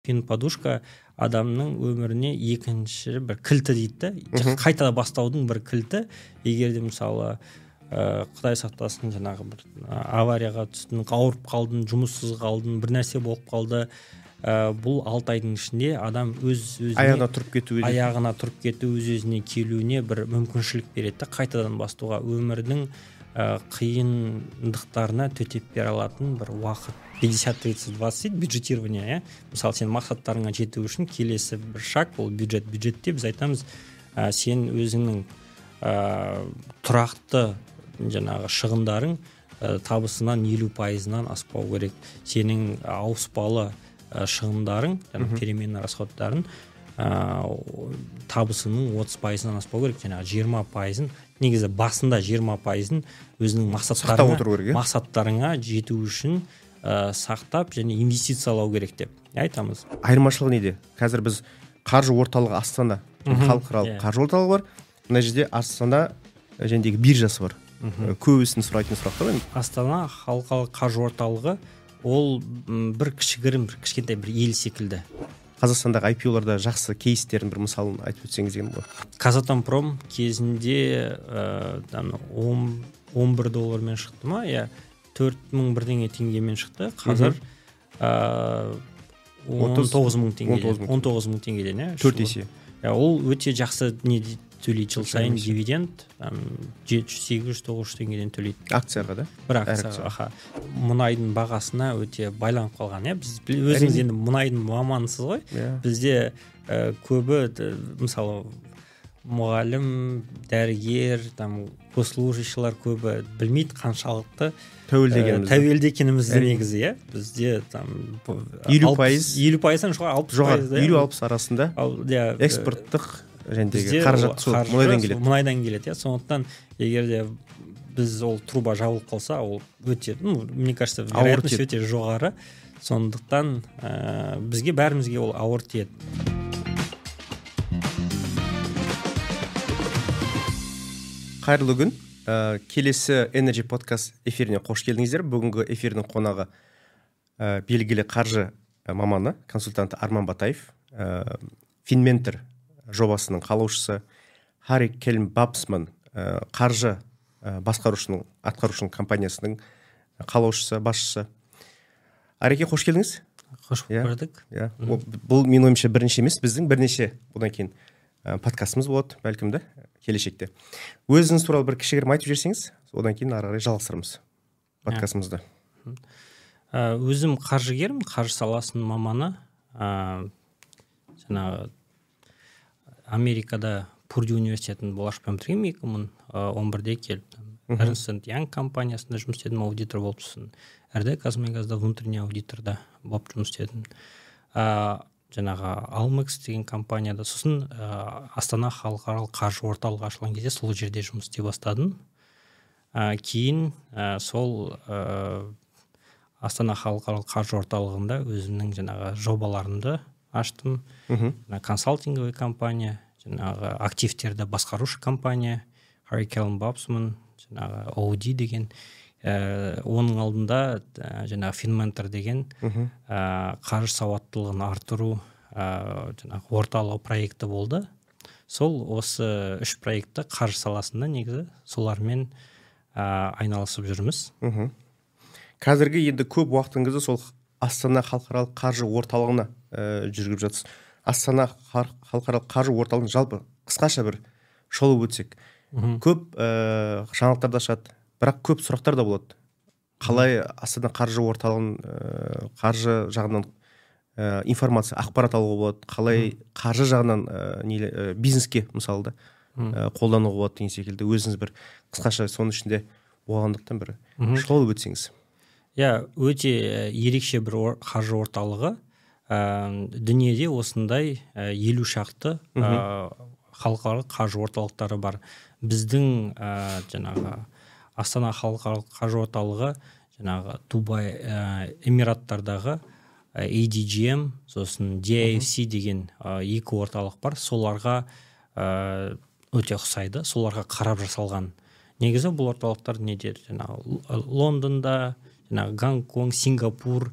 Фин-подушка адамның өміріне екінші бір кілті дейді да, қайта бастаудың бір кілті. Егер де мысалы Құдай сақтасын жаңағы бір аварияға түстің, ауырып қалдың, жұмыссыз қалдың, бір нәрсе болып қалды, бұл 6 айдың ішінде адам өз-өзіне аяғына тұрып кету, өз-өзіне келуіне бір мүмкіншілік береді, қайтадан бастауға, өмірдің қиындықтарына төтеп бере алатын бір уақыт. 50-30-20 бюджетирование, мысалы сен мақсаттарыңа жету үшін келесі бір шаг ол бюджет. Бюджетте біз айтамыз, сен өзіңнің тұрақты жаңағы шығындарың табысынан 50%-нан аспау керек. Сенің ауыспалы шығындарың, переменный расходтарың табысының 30%-нан аспау керек. Жаңағы 20%-ын, негізі басында 20%-ын өзінің мақсаттарыңа жету үшін сақтап және инвестициялау керек деп айтамыз. Айырмашылығы неде? Қазір біз қаржы орталығы Астана, халықаралық қаржы орталығы бар. Мына жерде Астана жәндегі биржасы бар. Көбісін сұрайтын сұрақтар. Астана халықаралық қаржы орталығы ол бір кішігірім, бір кішкентай бір ел секілді. Қазақстандағы IPO-ларда жақсы кейстерін бір мысалын айтып өтсеңіз деген ғой. Казатомпром кезінде $11 шықты ма? 4.000 бірдеңе теңгемен шықты. Қазір 19.000 теңге. 19.000 теңгеден, 4 есе. Ол өте жақсы не төлейді, жыл сайын дивиденд 700-800-900 теңгеден төлейді. Акцияға да? Бір акцияға. Мұнайдың бағасына өте байланып қалған. Біз өзіңіз енді мұнайдың мамансыз ғой. Бізде көбі, мысалы, мұғалім, дәрігер, госслужащийлар көбі білмейді қаншалықты тәуелді екенімізді негізі. Бізде 50%-дан жоғары 50-60 арасында экспорттық жәндегі қаражат мұнайдан келеді. Сондықтан егер де біз ол труба жабылып қалса, ол өте, мне кажется, вероятность өте жоғары. Сондықтан бізге бәрімізге ол ауыр тиеді. Қайырлы күн. Келесі Energy Podcast эфиріне қош келдіңіздер. Бүгінгі эфирдің қонағы белгілі қаржы маманы, консультанты Арман Батаев, Finmentor жобасының қалаушысы, Харри Келм Бабсман қаржы атқарушының компаниясының қалаушысы, басшысы. Ареке, қош келдіңіз. Қош көрдік. Бұл мен ойымша бірінші емес, біздің бірнеше одан кейін подкастымыз болады, бәлкім де келешекте. Өзіңіз туралы бір кішігірім айтып жіберсеңіз, одан кейін ары қарай жалғастырамыз подкастымызды. Өзім қаржыгермін, қаржы саласының маманы. Жаңағы Америкада Пурдю университетін болашақпен бітіргенмін, 2011-де келіп. Эрнст энд Янг компаниясында жұмыс істедім, аудитор болып тұрсын. РД Казмунайгазда внутренний аудиторда болып жұмыс істедім. Жаңағы Almex деген компанияда, сосын Астана халықаралық қаржы орталығы ашылған кезде сол жерде жұмыс істей бастадым. Кейін сол Астана халықаралық қаржы орталығында өзімнің жаңағы жобаларымды аштым. Консалтинговый компания, жаңағы активтерді басқарушы компания, Харри Келм Бабсман, жаңағы OD деген, оның алдында жаңағы Finmentor деген қаржы сауаттылығын артыру жаңағы орталық проекті болды. Сол осы 3 проектті қаржы саласында негізі солармен айналысып жүрміз. Қазіргі енді көп уақытыңызды сол Астана халықаралық қаржы орталығына жүргізіп жатсыз. Астана халықаралық қаржы орталығын жалпы қысқаша бір шолып өтсек. Көп жаңалықтар да шығады, бірақ көп сұрақтар да болады. Қалай Астана қаржы орталығын қаржы жағынан информация, ақпарат алуға болады, қалай қаржы жағынан бизнеске мысалы да қолдануға болады деген секілді. Өзіңіз бір қысқаша соның ішінде болғандықтан бір шолып өтсеңіз. Өте ерекше бір қаржы орталығы. Дүниеде осындай 50 шақты халықаралық қаржы орталықтары бар. Біздің жаңағы Астана халықаралық қаржы орталығы жаңағы Дубай Эмираттардағы ADGM, сосын DIFC деген 2 орталық бар. Соларға өте ұқсайды, соларға қарап жасалған. Негізі бұл орталықтар недер? Лондонда, Гонконг, Сингапур,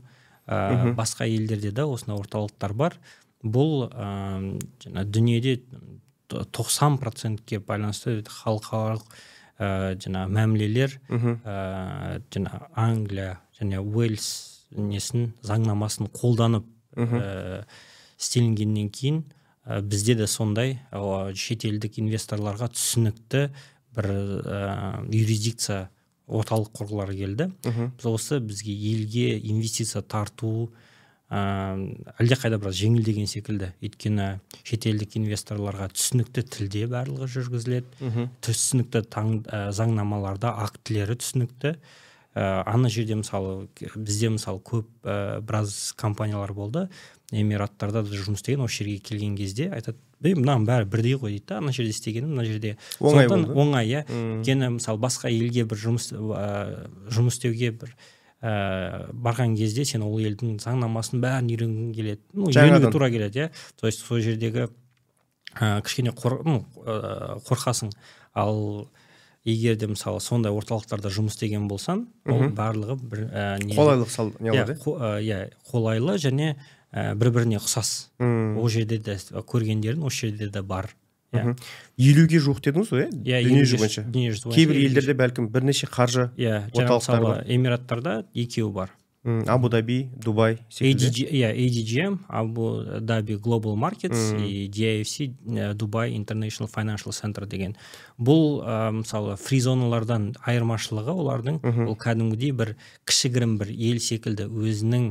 басқа елдерде де осындай орталықтар бар. Бұл жаңа дүниеде 90%-ке байланысты халықаралық жаңа мәмілелер жаңа Англия және Уэльс несін заңнамасын қолданып істелінгеннен кейін бізде де сондай шетелдік инвесторларға түсінікті бір юрисдикция орталық құрғылары келді. Осы бізге елге инвестиция тарту әлдеқайда біраз жеңілдеген секілді. Өйткені шетелдік инвесторларға түсінікті тілде барлығы жүргізіледі. Түсінікті заңнамаларда актілері түсінікті. Ана жерде мысалы бізде мысалы көп біраз компаниялар болды. Эмираттарда да жұмыс істеген, осы жерге келген кезде айтады, мынаның бәрі бірдей ғой дейді. Ана жерде істегенім, мына жерде оңай болды. Оңай, иә. Өйткені мысалы басқа елге бір жұмыс істеуге бір барған кезде сен ол елдің заңнамасын бәрін үйренгің келеді. Үйренуге тура келеді, иә. То есть сол жердегі кішкене қорқасың. Ал егер де мысалы сондай орталықтарда жұмыс істеген болсаң, ол барлығы бір қолайлық қолайлы және бір-біріне ұқсас. Ол жерде де көргендерін осы жерде де бар. 50-ге жуық дедіңіз ғой, дүниежүзі бойынша. Кейбір елдерде бәлкім бірнеше қаржы орталықтар бар. Эмираттарда 2 бар. Абу Даби, Дубай секілді. ADGM, Абу Даби Global Markets и DIFC, Dubai International Financial Center деген. Бұл мысалы фризоналардан айырмашылығы олардың ол кәдімгідей бір кішігірім бір ел секілді өзінің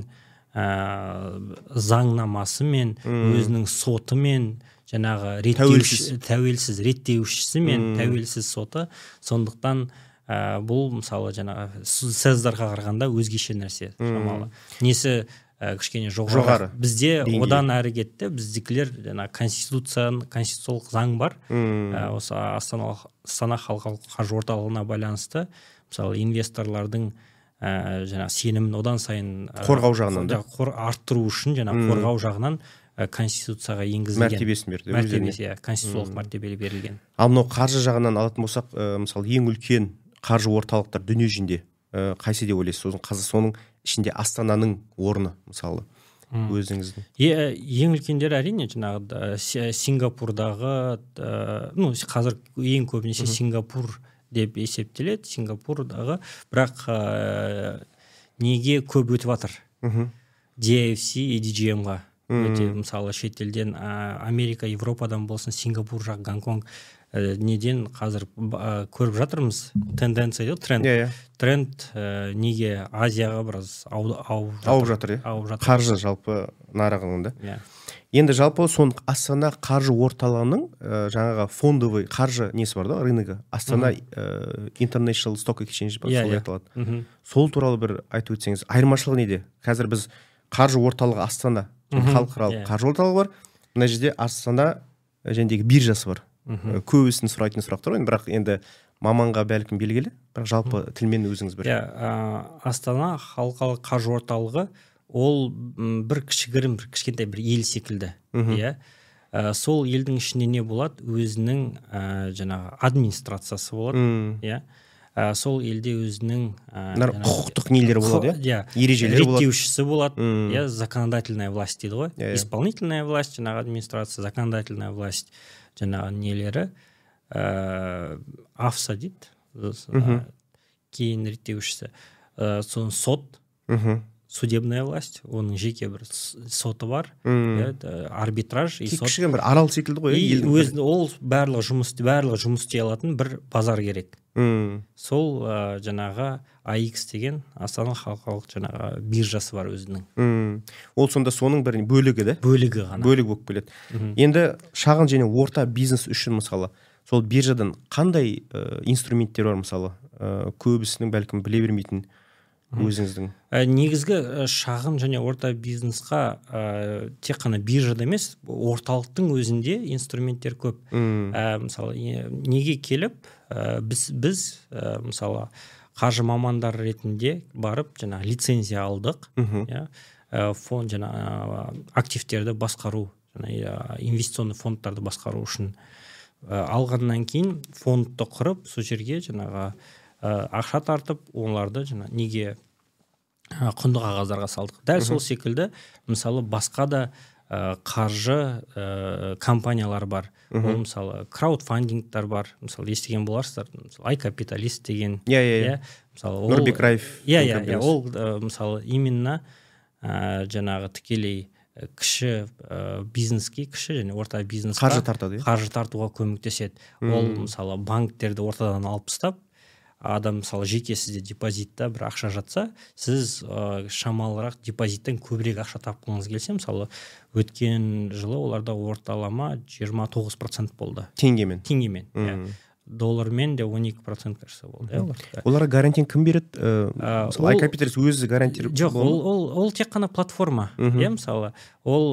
заңнамасымен, өзінің сотымен, жаңағы тәуелсіз реттеушісі мен тәуелсіз соты. Сондықтан бұл мысалы жаңағы СЭЗ-дарға қарағанда өзгеше нәрсе шамалы. Несі кішкене жоғары. Бізде одан әрі кетті. Біздікілер конституциялық заң бар. Осы Астана халықаралық қаржы орталығына байланысты мысалы инвесторлардың жаңа сенімін одан сайын қорғау жағынан арттыру үшін жаңа қорғау жағынан конституцияға енгізілген мәртебесі конституциялық мәртебе берілген. Ал мынау қаржы жағынан алатын болсақ, мысалы ең үлкен қаржы орталықтар дүние жүзінде қайсы деп ойлайсыз? Соның ішінде Астананың орны мысалы өзіңіздің. Ең үлкендері әрине жаңағы Сингапурдағы, қазір ең көбінесе Сингапур деп есептеледі. Сингапурдағы, бірақ неге көп өтіп жатыр? DIFC, ADGM-ға өте, мысалы шетелден Америка, Европадан болсын, Сингапур жақ, Гонконг неден қазір көріп жатырмыз тенденция, тренд неге Азияға біраз ауып жатыр, қаржы жалпы нарығында. Енді жалпы Астана қаржы орталығының жаңағы фондовый қаржы несі бар да, рыногы, Астана International Stock Exchange бар, сол айтылады. Сол туралы бір айтып өтсеңіз, айырмашылығы неде? Қазір біз қаржы орталығы Астана, халықаралық қаржы орталығы бар. Мына жерде Астана жәндегі биржасы бар. Көбісін сұрайтын сұрақтар, бірақ енді маманға бәлкім белгілі, бірақ жалпы тілмен өзіңіз бір. Астана халықаралық қаржы орталығы ол бір кішкентай бір ел секілді. Сол елдің ішінде не болады? Өзінің жаңағы администрациясы болады. Сол елде өзінің құқықтық нелері болады, ережелері болады, реттеушісі болады, законодательная власть дейді ғой. Исполнительная власть, жаңағы администрация, законодательная власть, жаңағы нелері АФСА дейді, кейін реттеушісі. Соның сот, судебная власть, оның жеке бір соты бар, арбитраж и сот. Кішкене бір арал секілді ғой. Ол барлығы жұмыс істей алатын бір базар керек. Сол жаңағы AX деген Астана халықаралық жаңағы биржасы бар өзінің. Ол сонда соның бір бөлігі да? Бөлігі ғана. Бөлігі болып келеді. Енді шағын және орта бизнес үшін мысалы, сол биржадан қандай инструменттер бар мысалы? Көбісінің бәлкім біле бермейтін өзіңіздің. Негізгі шағын және орта бизнесқа тек қана биржада емес, орталықтың өзінде инструменттер көп. Мысалы, неге келіп, біз мысалы қаржы мамандар ретінде барып, жаңа лицензия алдық, фонд жаңа активтерді басқару, инвестиционный фондтарды басқару үшін алғаннан кейін фондты құрып, сол жерге жаңағы ақша тартып, оларды неге құнды қағаздарға салдық. Дәл сол секілді мысалы басқа да қаржы компаниялар бар. Ол мысалы краудфандингтар бар. Мысалы естіген боларсыздар. Мысалы iCapitalist деген. Мысалы Нұрбек Раев. Ол мысалы именно жаңағы тікелей кіші бизнеске, кіші және орта бизнесқа қаржы тартады. Қаржы тартуға көмектеседі. Ол мысалы банктерді ортадан алып тастап, адам мысалы жеке сізде депозитта бір ақша жатса, сіз шамалырақ депозиттен көбірек ақша тапқыңыз келсе, мысалы өткен жылы оларда орталама 29% болды. Теңгемен. Доллармен де 12% кажется болды. Оларға гарантияны кім береді? Мысалы iCapitalist өзі гарантия. Жоқ, ол тек қана платформа. Мысалы ол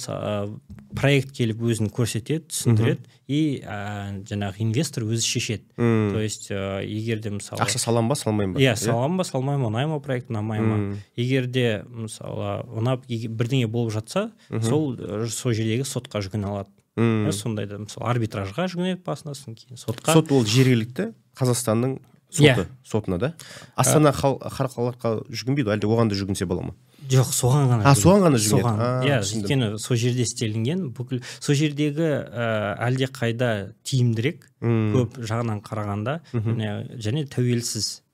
проект келіп өзін көрсетеді, түсіндіреді и жаңағы инвестор өзі шешеді. То есть егер де мысалы ақша салам ба, салмайым ба? Салам ба, салмайым, ұнай ма проект, ұнамай ма. Егер де мысалы ұнап бірдеңе болып жатса, сол жердегі сотқа жүгіне алады. Сондайда мысалы арбитражға жүгінеді басынасын, кейін сотқа. Сот ол жергілікті Қазақстанның сотына да? Астана халыққа жүгінбейді, әлде оған да жүгінсе бола ма? Жоқ, соған ғана жүгінеді. Өйткені сол жерде істелінген, бүкіл сол жердегі әлде қайда тиімдірек, көп жағынан қарағанда және тәуелсіз.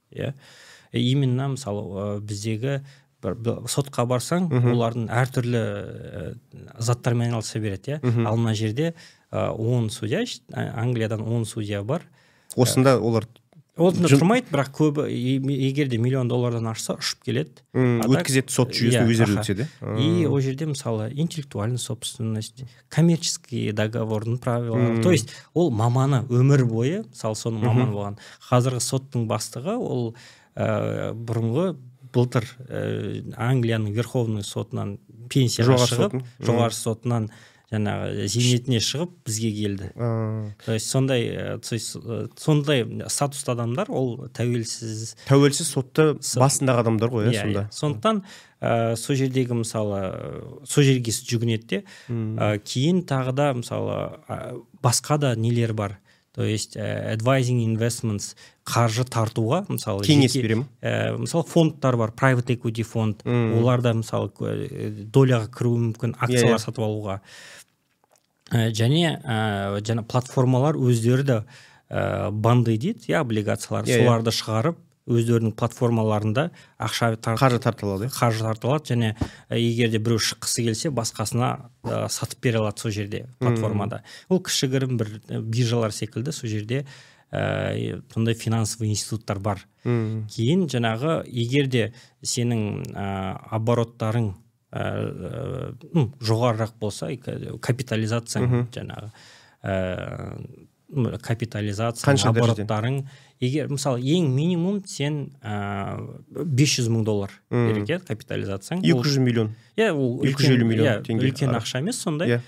Именно мысалы біздегі сотқа барсаң, олардың әртүрлі заттармен айналыса береді. Ал мына жерде 10 судья, Англиядан 10 судья бар. Осында олар тұрмайды, бірақ көбі егерде $1 миллион ашса, ұшып келеді. Өткізеді сот жүйесін өздері өтеді. И ол жерде мысалы интеллектуальная собственность, коммерческий договордың правилары. То есть ол маманы өмір бойы, мысалы соның маманы болған. Қазіргі соттың бастығы ол бұрынғы былтыр Англияның Верховный сотынан пенсияға шығып, жоғары сотынан жаңағы зейнетіне шығып бізге келді. То есть сондай статусты адамдар, ол тәуелсіз сотты басындағы адамдар ғой, сонда. Сондықтан сол жердегі мысалы сол жерге жүгінеді де, кейін тағы да мысалы басқа да нелер бар. То есть advising investments, қаржы тартуға, мысалы кеңес берем. Мысалы фондтар бар, private equity фонд, оларда мысалы доляға кіруі мүмкін, акциялар сатып алуға. Және платформалар өздері де банды дейді, облигациялар, соларды шығарып, өздерінің платформаларында қаржы тартылады, және егерде біреу шыққысы келсе, басқасына сатып бере алады сол жерде платформада. Ол кішігірім бір биржалар секілді сол жерде сондай финансовый институттар бар. Кейін жаңағы егерде сенің обороттарың жоғарырақ болса, капитализацияң жаңағы обороттарың, егер мысалы ең минимум сен $500 мың керек капитализацияң. 200 миллион. 250 миллион теңге. Үлкен ақша емес сондай.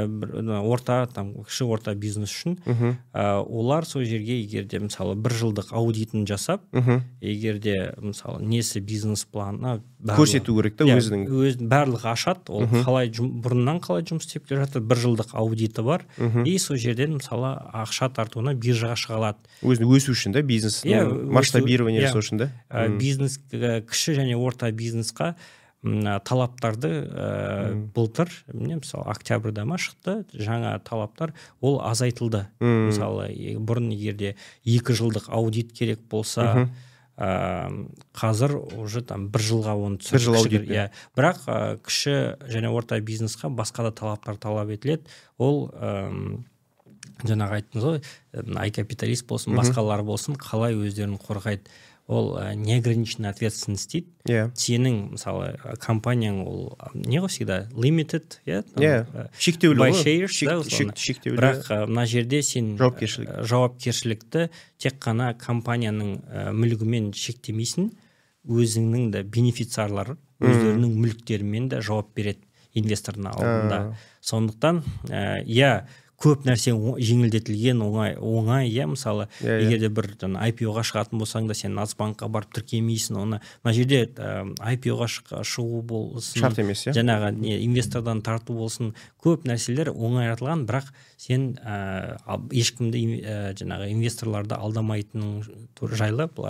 Кіші орта бизнес үшін олар сол жерге егерде мысалы 1 жылдық аудитін жасап, егерде мысалы несі бизнес планы көрсету керек та өзінің. Барлығы ашады, ол бұрыннан қалай жұмыс істеп келе жатыр, 1 жылдық аудиті бар, и сол жерден мысалы ақша тартуына биржаға шыға алады. Өзін өсу үшін да, бизнес масштабирование жасау үшін да. Бизнес, кіші және орта бизнесқа талаптарды былтыр, мысалы октябрьда ма шықты, жаңа талаптар, ол азайтылды. Мысалы бұрын егерде 2 жылдық аудит керек болса, қазір уже 1 жылға оны түсіріп. Бірақ кіші және орта бизнесқа басқа да талаптар талап етіледі. Ол жаңағы айттыңыз ғой, iCapitalist болсын, басқалар болсын, қалай өздерін қорғайды. Ол неограниченная ответственность дейді. Сенің, мысалы, компанияң ол не ғой всегда? Limited, шектеулі by shares, бірақ мына жерде сен жауапкершілікті тек қана компанияның мүлігімен шектемейсің, өзіңнің де бенефициарлары өздерінің мүліктерімен де жауап береді инвестордың алдында. Сондықтан, көп нәрсе жеңілдетілген, оңай, мысалы, егерде бір IPO-ға шығатын болсаң да, сен Нацбанкқа барып тіркемейсің, оны мына жерде IPO-ға шығу болсын, шарт емес, жаңағы инвестордан тарту болсын, көп нәрселер оңайратылған, бірақ сен ешкімді жаңағы инвесторларды алдамайтының жайлы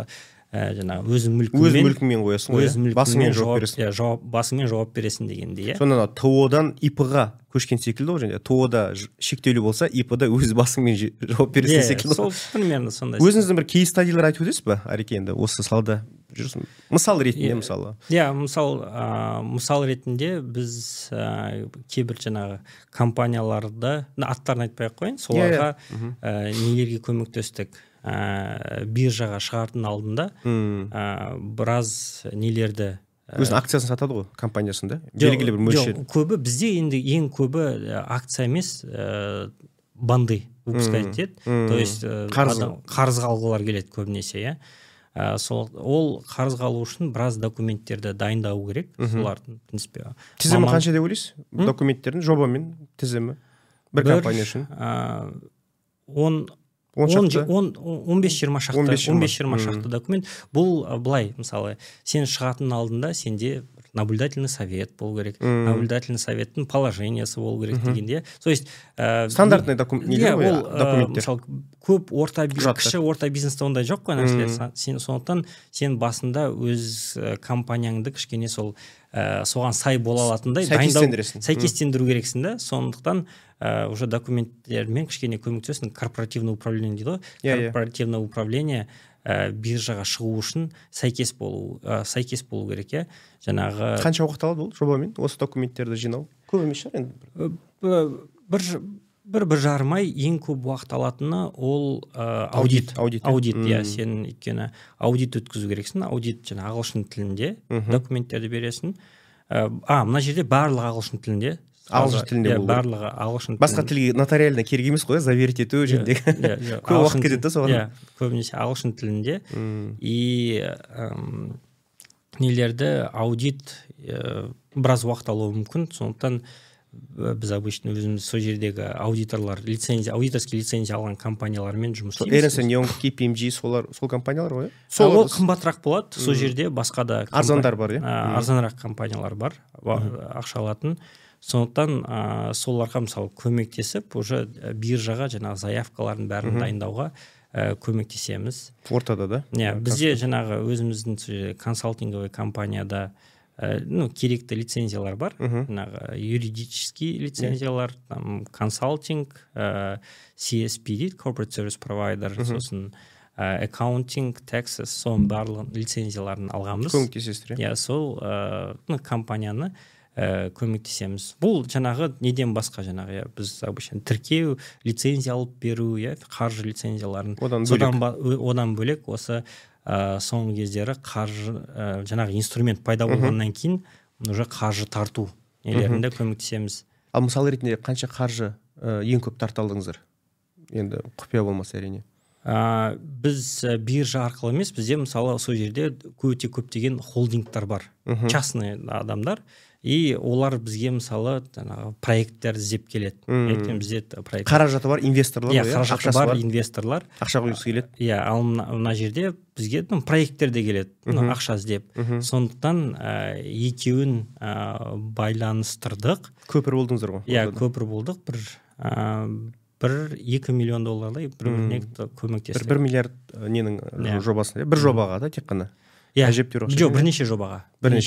жаңағы өз мүлкіңмен қоясың ғой, басыңмен жауап бересің. Басыңмен жауап бересің дегендей. Сонда ТО-дан ИП-ға көшкен секілді ғой, және ТО-да шектеулі болса, ИП-да өз басыңмен жауап бересің секілді. Сол примерно сондай. Өзіңіздің бір кейс-стадилер айтып өтесіз ба, Ареке, енді осы салада жүрсің? Мысал ретінде, мысалы. Мысал ретінде біз кейбір жаңағы компанияларды, аттарын айтпай-ақ қояйын, соларға нелерге көмектестік. Биржаға шығардың алдында біраз нелерді, өзінің акциясын сатады ғой, компаниясында, белгілі бір мөлшер. Көбі бізде енді ең көбі акция емес, банды выпускать етеді. То есть қарыз алғылар келеді көбінесе. Ол қарыз алу үшін біраз документтерді дайындау керек. Солардың, в принципе. Тізімі қанша деп ойлайсыз? Документтердің жобамен тізімі бір компания үшін? 15-20 шақты документ. Бұл былай, мысалы, сен шығатын алдында сенде наблюдательный совет болу керек. Наблюдательный советтің положениясы болу керек дегенде. То есть стандартный документтер. Мысалы, көп кіші орта бизнесте ондай жоқ қой нәрселер. Сондықтан сен басында өз компанияңды кішкене соған сай бола алатындай сәйкестендіру керексің да. Сондықтан уже документтермен кішкене көмектесің. Корпоративное управление дейді ғой. Корпоративное управление биржаға шығу үшін сәйкес болу керек. Жаңағы қанша уақыт алады бұл жобамен осы документтерді жинау? Көп емес шығар енді. Бір жарым ай ең көп уақыт алатыны ол аудит. Сен өйткені аудит өткізу керексің. Аудит жаңа ағылшын тілінде документтерді бересің. Мына жерде барлығы ағылшын тілінде. Ағылшын тілінде болу. Барлығы ағылшын тілінде. Басқа тілге нотариально керек емес қой, заверить ету жерде. Көп уақыт кетеді да соған. Көбінесе ағылшын тілінде. И нелерді аудит біраз уақыт алуы мүмкін. Сондықтан біз обычно өзіміз сол жердегі аудиторлар, аудиторский лицензия алған компаниялармен жұмыс істейміз. Эрнст энд Янг, KPMG сол компаниялар ғой? Ол қымбатырақ болады. Сол жерде басқа да арзандар бар, арзанырақ компаниялар бар, ақша алатын. Сондықтан соларға мысалы көмектесіп, уже биржаға жаңағы заявкалардың бәрін дайындауға көмектесеміз. Ортада да? Бізде жаңағы өзіміздің консалтинговый компанияда керекті лицензиялар бар. Юридический лицензиялар, консалтинг, CSP дейді, Corporate Service Provider, сосын accounting, taxes, соның барлығын лицензияларын алғанбыз. Көмектесесіздер. Сол компанияны көмектесеміз. Бұл жаңағы неден басқа жаңағы біз обычно тіркеу, лицензия алып беру, қаржы лицензияларын. Одан бөлек осы соңғы кездері қаржы жаңағы инструмент пайда болғаннан кейін уже қаржы тарту нелерінде көмектесеміз. Ал мысал ретінде қанша қаржы ең көп тарта алдыңыздар? Енді құпия болмаса әрине. Біз биржа арқылы емес, бізде мысалы сол жерде өте көптеген холдингтар бар, частный адамдар. И олар бізге мысалы проекттер іздеп келеді. Қаражаты бар инвесторлар. Қаражаты бар инвесторлар. Ақша құйғысы келеді. Ал мына жерде бізге проекттер де келеді, ақша іздеп. Сондықтан екеуін байланыстырдық. Көпір болдыңыздар ғой? Көпір болдық. Бір 2 миллион доллардай бір-біріне көмектестік. 1 миллиард ненің жобасында? Бір жобаға да тек қана? Жоқ, бірнеше жобаға.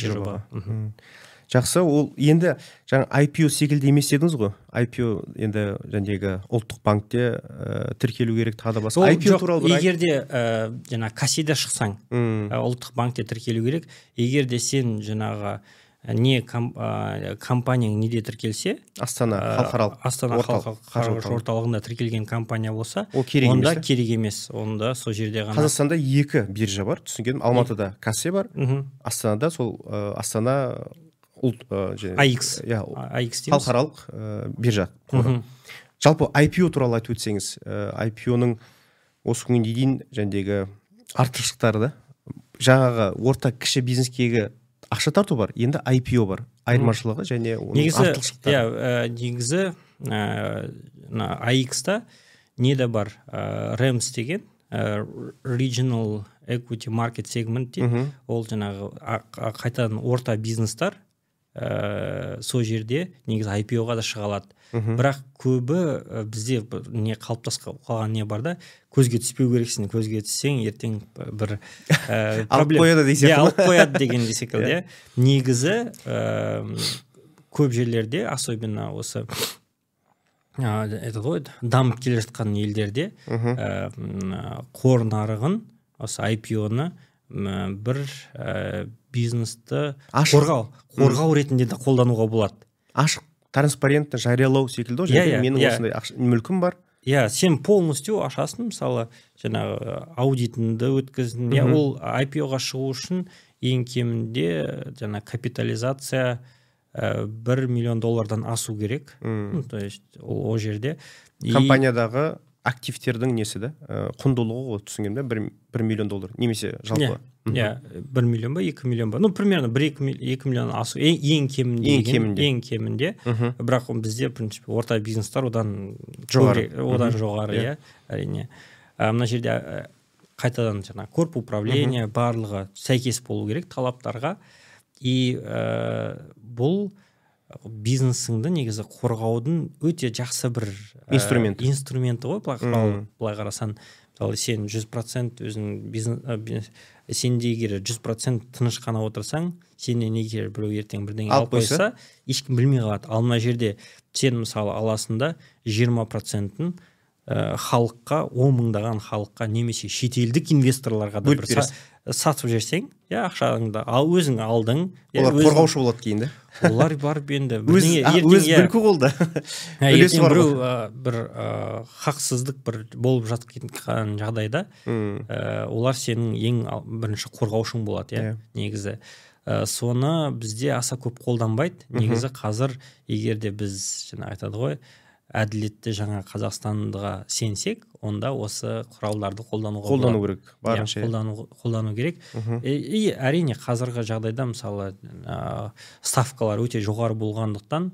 Жақсы, ол енді жаңа IPO секілді емес едіңіз ғой. IPO енді жәндегі ұлттық банкте тіркелу керек, тағы да басқа. IPO туралы бір егерде жаңа кассида шықсаң, ұлттық банкте тіркелу керек. Егерде сен жаңағы компанияң неде тіркелсе, Астана халықаралық орталығында тіркелген компания болса, онда керек емес. Онда сол жерде ғана. Қазақстанда 2 биржа бар, түсінгенім. Алматыда кассе бар, Астанада сол Астана AX халықаралық биржа. Жалпы IPO туралы айтып өтсеңіз, IPO-ның осы күнге дейін жәндегі артықшылықтары да, жаңағы орта кіші бизнескегі ақша тарту бар, енді IPO бар. Айырмашылығы және оның артықшылықтары. Негізі AX-та неде бар? REMS деген Regional Equity Market Segment дейді. Ол жаңағы қайтадан орта бизнестар сол жерде негізі IPO-ға да шыға алады. Бірақ көбі бізде не қалыптасып қалған не бар да, көзге түспеу керексің, көзге түссең ертең бір алып қояды десек. алып қояды деген секілді. Негізі көп жерлерде, особенно осы дамып келе жатқан елдерде қор нарығын, осы IPO-ны бір бизнесті қорғау ретінде де қолдануға болады. Ашық, транспарентті жариялау секілді, менің осындай мүлкім бар. Сен полностью ашасың, мысалы, жаңағы аудитіңді өткіздің. Ол IPO-ға шығу үшін ең кемінде капитализация $1 миллион асу керек. То есть ол жерде компаниядағы активтердің несі да, құндылығы ғой, түсінгенде $1 миллион, немесе жалпы. 1 миллион ба, 2 миллион ба, примерно 1-2 миллион асу ең кемінде. Бірақ бізде принципе орта бизнестар одан жоғары, әрине. Мына жерде қайтадан корп управление барлығы сәйкес болу керек талаптарға. И бұл бизнесіңді негізі қорғаудың өте жақсы бір инструменті ғой, былай қарасан. Мысалы, сен 100% өзің сенде егер 100% тыныш қана отырсаң, сенен егер біреу ертең бірдеңе алып қойса, ешкім білмей қалады. Ал мына жерде сен мысалы аласында 20%-ін халыққа, 10 мыңдаған халыққа, немесе шетелдік инвесторларға да бір сатып жерсең, ақшаңды өзің алдың. Олар қорғаушы болады кейін, да? Олар барып енді өз бүлкі қолда. Ертең біреу бір хақсыздық бір болып жатқан жағдайда, олар сенің ең бірінші қорғаушың болады, негізі. Соны бізде аса көп қолданбайды. Негізі қазір егерде біз айтады ғой, әділетті жаңа Қазақстанға сенсек, онда осы құралдарды қолдану керек, барынша. Қолдану керек. И әрине қазіргі жағдайда мысалы ставкалар өте жоғары болғандықтан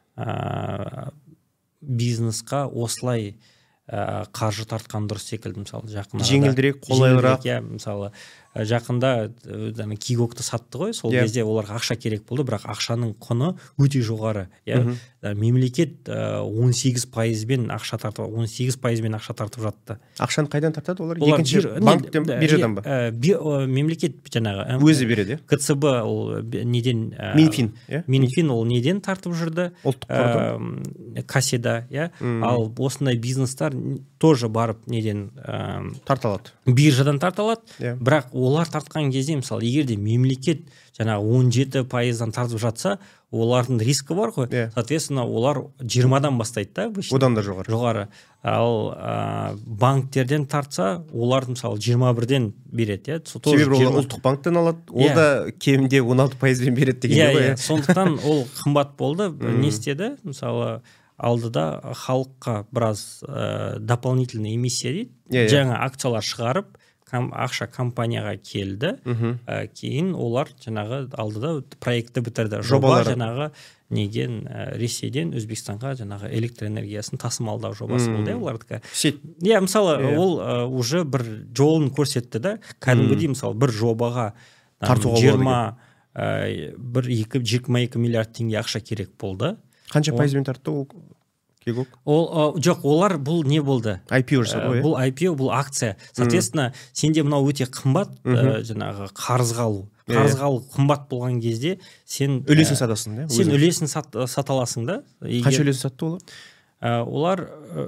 бизнесқа осылай қаржы тартқан дұрыс секілді. Мысалы жақында жеңілдірек, қолайлырақ. Мысалы жақында Кигокты сатты ғой, сол кезде оларға ақша керек болды, бірақ ақшаның құны өте жоғары. Мемлекет 18%-бен ақша тартып жатты. Ақшаны қайдан тартады олар? Екінші банктен, биржадан ба? Мемлекет жаңағы өзі береді. КЦБ ол неден? Минфин ол неден тартып жүрді? Ұлттық қордан. Касседа, ал осындай бизнестар тоже барып неден тарталады? Биржадан тарталады, бірақ олар тартқан кезде, мысалы, егерде мемлекет жаңағы 17%-дан тартып жатса, олардың рискі бар ғой. Соответственно, олар 20-дан бастайды да. Одан да жоғары. Ал банктерден тартса, олардың мысалы 21-ден береді. Себебі ол ұлттық банктен алады, ол да кемінде 16%-бен береді деген ғой. Сондықтан ол қымбат болды. Не істеді? Мысалы, алдыда халыққа біраз дополнительный эмиссия дейді. Жаңа акциялар шығарып, ақша компанияға келді, кейін олар жаңағы алдыда проектті бітірді. Жоба жаңағы неден Ресейден Өзбекстанға жаңағы электроэнергиясын тасымалдау жобасы болды олардікі. Мысалы, ол уже бір жолын көрсетті да, кәдімгідей мысалы бір жобаға 22 миллиард теңге ақша керек болды. Қанша пайызбен тартты ол? Жоқ, олар бұл не болды? IPO жасады ғой. Бұл IPO, бұл акция. Соответственно, сенде мынау өте қымбат, жаңағы қарызға алу. Қарызға алу қымбат болған кезде сен үлесін сатасың, да? Сен үлесін сата аласың да. Қанша үлесін сатты олар? Олар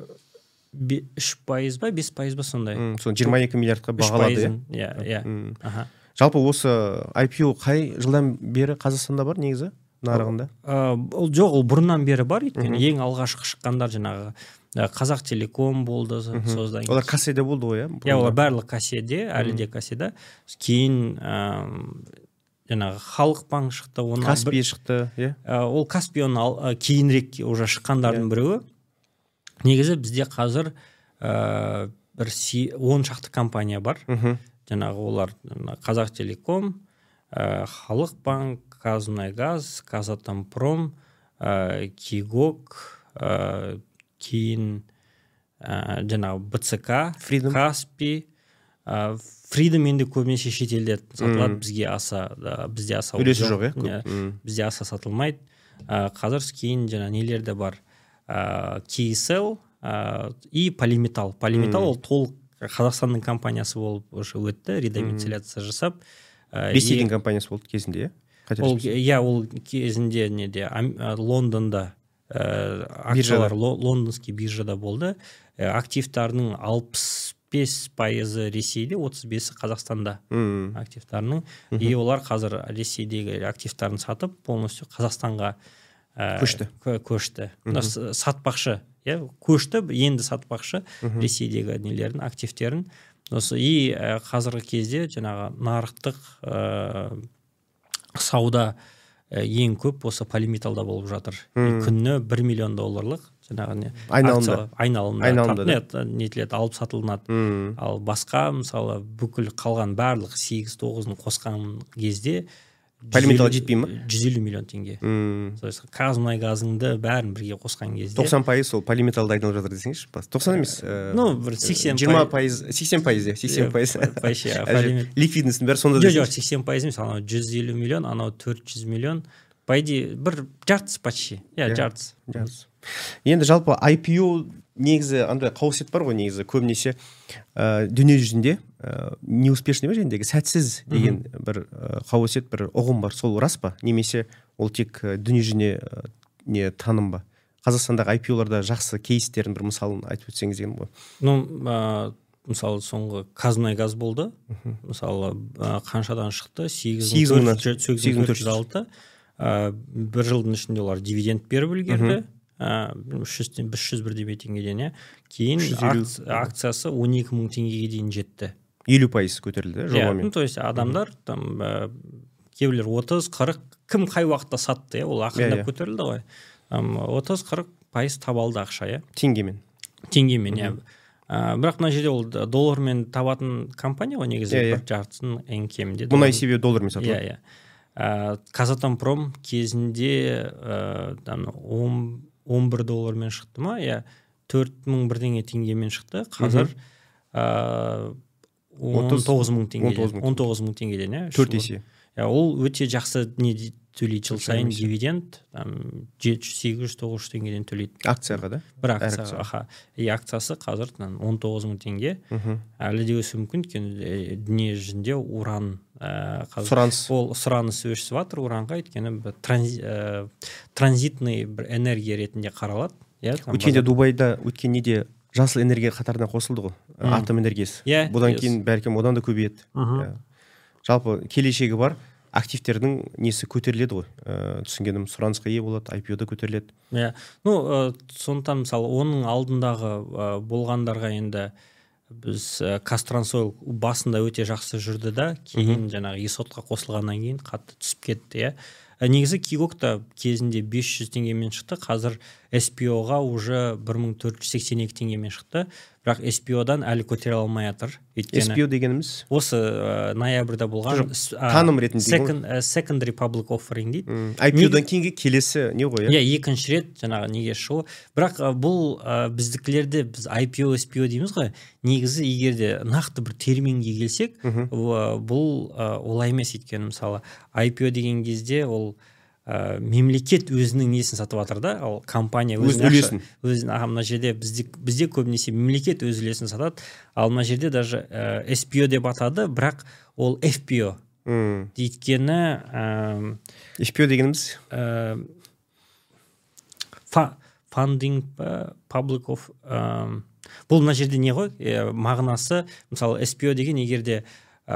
3% ба, 5% ба сондай. 22 миллиардқа бағалады. Жалпы осы IPO қай жылдан бері Қазақстанда бар негізі? Нарығында? Жоқ, ол бұрыннан бері бар, өйткені ең алғашқы шыққандар жаңағы Қазақтелеком болды. Олар касседе болды ғой, олар барлық касседе, әлі де касседе. Кейін жаңағы Халық банк шықты. Каспий шықты, ол Каспион кейінірек уже шыққандардың біреуі. Негізі бізде қазір бір 10 шақты компания бар. Жаңағы олар Қазақтелеком, Халық банк, Казмунайгаз, Казатомпром, Кигок, кейін жаңағы БЦК, Каспий, Freedom енді көбінесе шетелде сатылады, бізде аса үлесі жоқ, бізде аса сатылмайды. Қазір кейін жаңа нелер де бар, KSL и Polymetal. Polymetal ол толық Қазақстанның компаниясы болып уже өтті, редомицеляция жасап. Ресейдің компаниясы болды кезінде, ол кезінде неде Лондонда акциялар лондонский биржада болды. Активтарының 65% Ресейде, 35% Қазақстанда активтарының. И олар қазір Ресейдегі активтарын сатып, полностью Қазақстанға көшті. Сатпақшы, көшті, енді сатпақшы Ресейдегі нелерін, активтерін. И қазіргі кезде жаңағы нарықтық сауда ең көп осы Polymetalда болып жатыр. Күніне $1 миллион жаңағы айналымда нетіледі, алып сатылынады. Ал басқа мысалы бүкіл қалған барлық 8-9-ын қосқан кезде Polymetal жетпей ма? 150 миллион теңге. Қазмұнайгазыңды бәрін бірге қосқан кезде 90% сол Polymetalда айналып жатыр десеңізші. 90 емес. Бір 80%. 80%. Ликвидностың бәрі сонда десеңізші. Жоқ, 80% емес, анау 150 миллион, анау 400 миллион. По идее, бір жартысы почти. Жартысы. Енді жалпы IPO негізі андай қауесет бар ғой, негізі көбінесе дүние жүзінде неуспешный ма жендегі сәтсіз деген бір қауесет, бір ұғым бар. Сол рас па? Немесе ол тек дүние жүзіне таным ба? Қазақстандағы IPO-ларда жақсы кейстерін бір мысалын айтып өтсеңіз деген ғой. Мысалы соңғы Қазмұнайгаз болды. Мысалы қаншадан шықты? 8,406. Бір жылдың ішінде олар дивиденд беріп үлгерді. 300 бірдей теңгеден, кейін акциясы 12 мың теңгеге дейін жетті. 50% көтерілді жобамен. То есть адамдар кейбіреулер 30-40, кім қай уақытта сатты, ол ақырындап көтерілді ғой. 30-40% табалды ақша, теңгемен. Бірақ мына жерде ол доллармен табатын компания ғой, негізі бір жартысын ең кемінде. Мұнай себебі доллармен сатылады. Казатомпром кезінде $11 шықты ма? 4,000 бірдеңе теңгемен шықты. Қазір 19,000 теңгеден. 4 есе. Ол өте жақсы не төлейді, жыл сайын дивиденд 700-800-900 теңгеден төлейді. Акцияға да? Бір акцияға. Акциясы қазір 19,000 теңге. Әлі де өсуі мүмкін, өйткені дүние жүзінде уран сұраныс өсіп жатыр уранға, өйткені транзитный бір энергия ретінде қаралады. Өткенде Дубайда өткен неде жасыл энергия қатарына қосылды ғой, атом энергиясы. Бұдан кейін бәлкім одан да көбейеді. Жалпы келешегі бар, активтердің несі көтеріледі ғой. Түсінгенім, сұранысқа ие болады, IPO-да көтеріледі. Сондықтан мысалы оның алдындағы болғандарға енді біз Қазтрансойл басында өте жақсы жүрді да, кейін жаңағы есотқа қосылғаннан кейін қатты түсіп кетті. Негізі Кигокта кезінде 500 теңгемен шықты, қазір SPO-ға уже 1482 теңгемен шықты, бірақ SPO-дан әлі көтере алмай жатыр. SPO дегеніміз? Осы ноябрьда болған таным ретінде secondary public offering дейді. IPO-дан кейінгі келесі не ғой? Екінші рет жаңағы неге шығу. Бірақ бұл біздікілерде біз IPO, SPO дейміз ғой, негізі егерде нақты бір терминге келсек, бұл олай емес. Өйткені мысалы IPO деген кезде ол мемлекет өзінің несін сатып жатыр да, ал компания өзінің мына жерде бізде көбінесе мемлекет өз үлесін сатады, ал мына жерде даже SPO деп атады, бірақ ол FPO дейткені FPO дегеніміз funding public of бұл мына жерде не ғой, мағынасы мысалы SPO деген егерде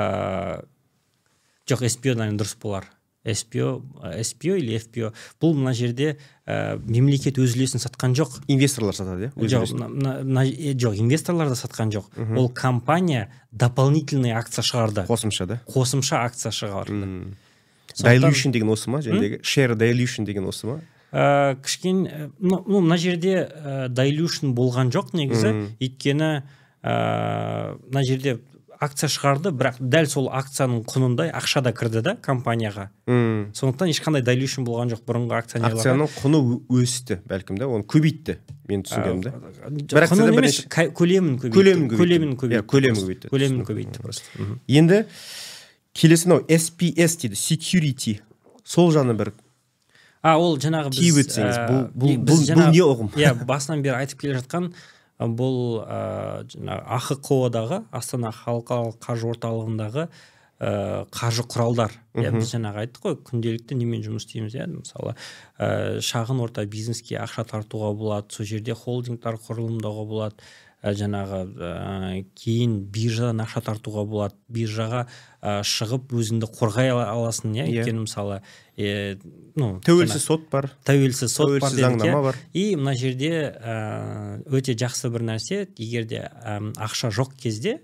жоқ, SPO дұрыс болар, SPO или FPO. Бұл мына жерде мемлекет өз үлесін сатқан жоқ. Инвесторлар сатады, Жоқ, инвесторлар да сатқан жоқ. Ол компания дополнительный акция шығарды. Қосымша акция шығарды. Dilution деген осы ма? Share dilution деген осы ма? Кішкене, мына жерде dilution болған жоқ негізі. Өйткені мына жерде акция шығарды, бірақ дәл сол акцияның құнындай ақша да кірді да компанияға. Сондықтан ешқандай дайлюшн болған жоқ бұрынғы акционерларға. Акцияның құны өсті бәлкім да, оны көбейтті, мен түсінгенімде. Құнын емес, көлемін көбейтті. Көлемін көбейтті просто. Енді келесі мынау SPS дейді, security. Сол жаны бір ол жаңағы біз не ұғым? Басынан бері айтып келе жатқан бұл жаңағы АХқО-дағы, Астана халықаралық қаржы орталығындағы қаржы құралдар. Біз жаңағы айттық қой, күнделікті немен жұмыс істейміз. Мысалы, шағын орта бизнеске ақша тартуға болады, сол жерде холдингтар құрылымдауға болады, жаңағы кейін биржадан ақша тартуға болады, биржаға шығып өзіңді қорғай аласың, өйткені мысалы тәуелсіз сот бар, тәуелсіз заңнама бар. И мына жерде өте жақсы бір нәрсе, егерде ақша жоқ кезде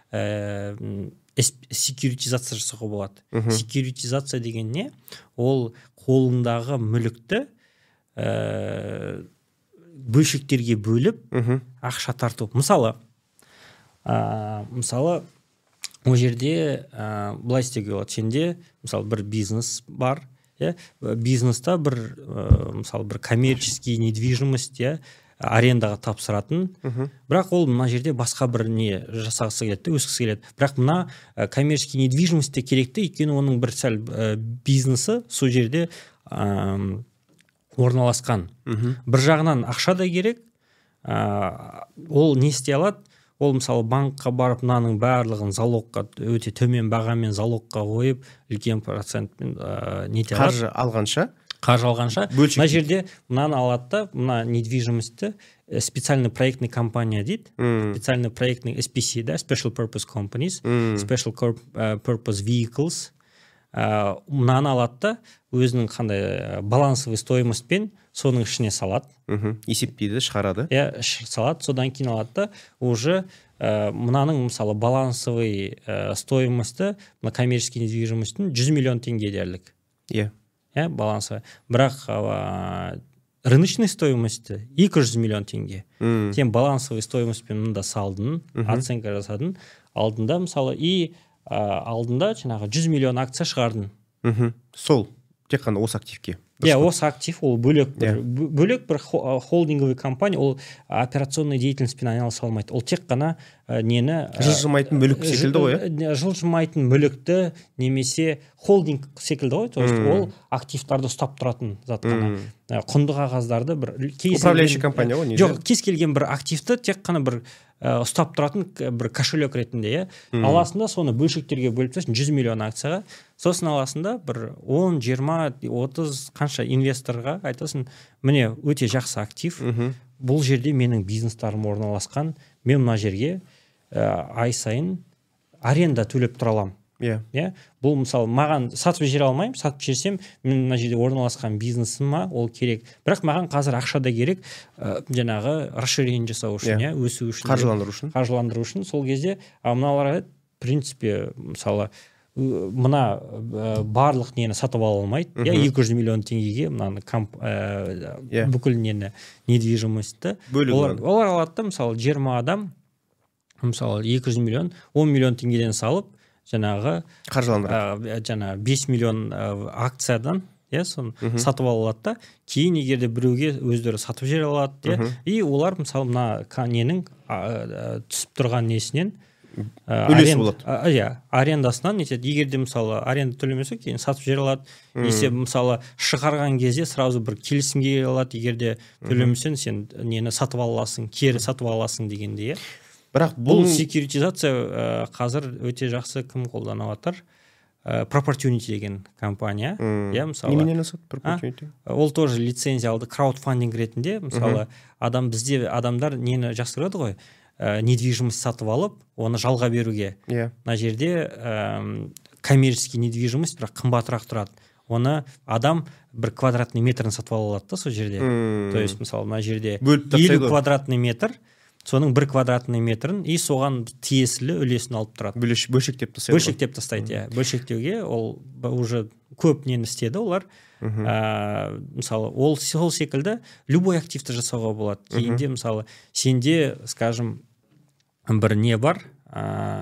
секьюритизация жасауға болады. Секьюритизация деген не? Ол қолыңдағы мүлікті бөлшектерге бөліп ақша тарту. Мысалы ол жерде былай істеуге болады. Сенде мысалы бір бизнес бар, бизнеста бір мысалы бір коммерческий недвижимость арендаға тапсыратын, бірақ ол мына жерде басқа бір не жасағысы келеді, өскісі келеді. Бірақ мына коммерческий недвижимость керекті, өйткені оның бір сәл бизнесі сол жерде орналасқан. Бір жағынан ақша да керек, ол не істей алады? Ол мысалы банкқа барып мынаның барлығын залогқа өте төмен бағамен залогқа қойып, үлкен процентпен нете алады. Қаржы алғанша, мына жерде мынаны алады да, мына недвижимостьті специальный проектный компания дейді, специальный проектный SPC, да, Special Purpose Companies, Special Purpose Vehicles, мынаны алады да, өзінің қандай балансовый стоимостьпен соның ішіне салады. Есептейді, шығарады. Салады, содан кейін алады да, уже мынаның мысалы балансовый стоимості, мына коммерческий недвижимостьтің 100 миллион теңге дерлік. Балансовый. Бірақ рыночный стоимості 200 миллион теңге. Сен балансовый стоимостьпен мында салдың, оценка жасадың, алдында мысалы, и алдында жаңағы 100 миллион акция шығардың. Сол, тек қана осы активке. Осы актив, ол бөлек бір холдинговый компания, ол операционный деятельностьпен айналыса алмайды. Ол тек қана нені жылжымайтын мүлік секілді ғой. Жылжымайтын мүлікті немесе холдинг секілді ғой. То есть ол активтарды ұстап тұратын зат қана. Құнды қағаздарды бір управляющий компания ғой. Жоқ, кез келген бір активті тек қана бір ұстап тұратын бір кошелек ретінде, аласында соны бөлшектерге бөліп тастайсың, 100 миллион акцияға, сосын аласында бір 10, 20, 30 қанша инвесторға айтасың, міне өте жақсы актив, бұл жерде менің бизнестарым орналасқан, мен мына жерге ай сайын аренда төлеп тұра аламын. Бұл мысалы маған сатып жібере алмаймын, сатып жіберсем мен мына жерде орналасқан бизнесіме ол керек, бірақ маған қазір ақша да керек, жаңағы расширение жасау үшін, өсу үшін, қаржыландыру үшін. Сол кезде мыналарға в принципе мысалы мына барлық нені сатып ала алмайды, 200 миллион теңгеге мынаны бүкіл нені недвижимостьті олар алады да, мысалы 20 адам мысалы 200 миллион 10 миллион теңгеден салып жаңағы жаңағы 5 миллион акциядан соны сатып алады да, кейін егерде біреуге өздері сатып жібере алады, и олар мысалы мына ненің түсіп тұрған несінен үлесі болады. Арендасынан нетеді. Егерде мысалы аренда төлемесе, кейін сатып жібере алады. Есе мысалы шығарған кезде сразу бір келісімге келе алады, егерде төлемесең сен нені сатып аласың, кері сатып аласың дегенде. Бірақ бұл секьюритизация қазір өте жақсы кім қолданып жатыр? Proportunity деген компания. Неменен асады Proportunity? Ол тоже лицензия алды, краудфандинг ретінде. Мысалы бізде адамдар нені жақсы көреді ғой? Недвижимость сатып алып, оны жалға беруге. Мына жерде коммерческий недвижимость, бірақ қымбатырақ тұрады. Оны адам бір квадратный метрін сатып ала алады да сол жерде. То есть, мысалы, мына жерде 50 квадратный метр, соның 1 квадратный метрін и соған тиесілі үлесін алып тұрады. Бөлшектеп тастайды. Бөлшектеуге ол уже көп нені істеді олар. Мысалы, ол сол секілді любой активті жасауға болады. Кейінде, мысалы, сенде, скажем, бір не бар,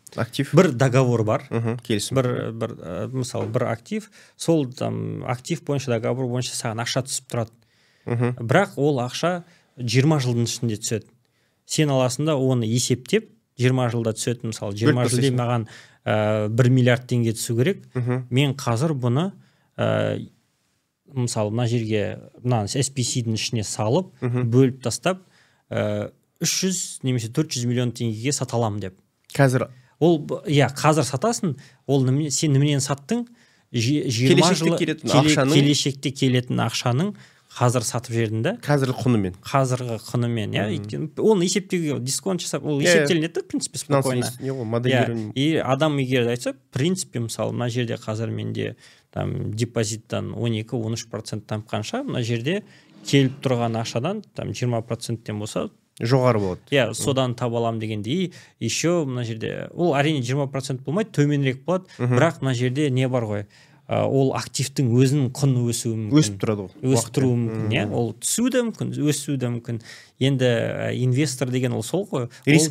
Актив. бір договор бар. Келісім. Мысалы бір актив, сол актив бойынша договор бойынша саған ақша түсіп тұрады. Бірақ ол ақша 20 жылдың ішінде түседі. Сен аласың да оны есептеп 20 жылда түседі. Мысалы 20 жылда маған 1 миллиард теңге түсу керек. Мен қазір бұны мысалы мына жерге SPC-дің ішіне салып, бөліп тастап 300 немесе 400 миллион теңгеге сата аламын деп. Қазір ол қазір сатасың, ол сен неменен саттың? 20 жыл келешекте келетін ақшаның қазір сатып жердің да. Қазіргі құнымен, оны есептеуге дисконт жасап, ол есептелінеді, в принципе, спокойно. И адам егер айтса, в принципе, мысалы, мына жерде қазір менде депозиттан 12-13% тапқанша, мына жерде келіп тұрған ақшадан 20%-тен болса, жоғары болады. Содан таба алам дегенде. И еще мына жерде, ол әрине 20% болмайды, төменірек болады, бірақ мына жерде не бар ғой? Ол активтің өзінің құны өсуі мүмкін. Өсіп тұрады ол. Өсіп тұруы мүмкін, ол түсуі де мүмкін, өсуі де мүмкін. Енді инвестор деген ол сол ғой. Риск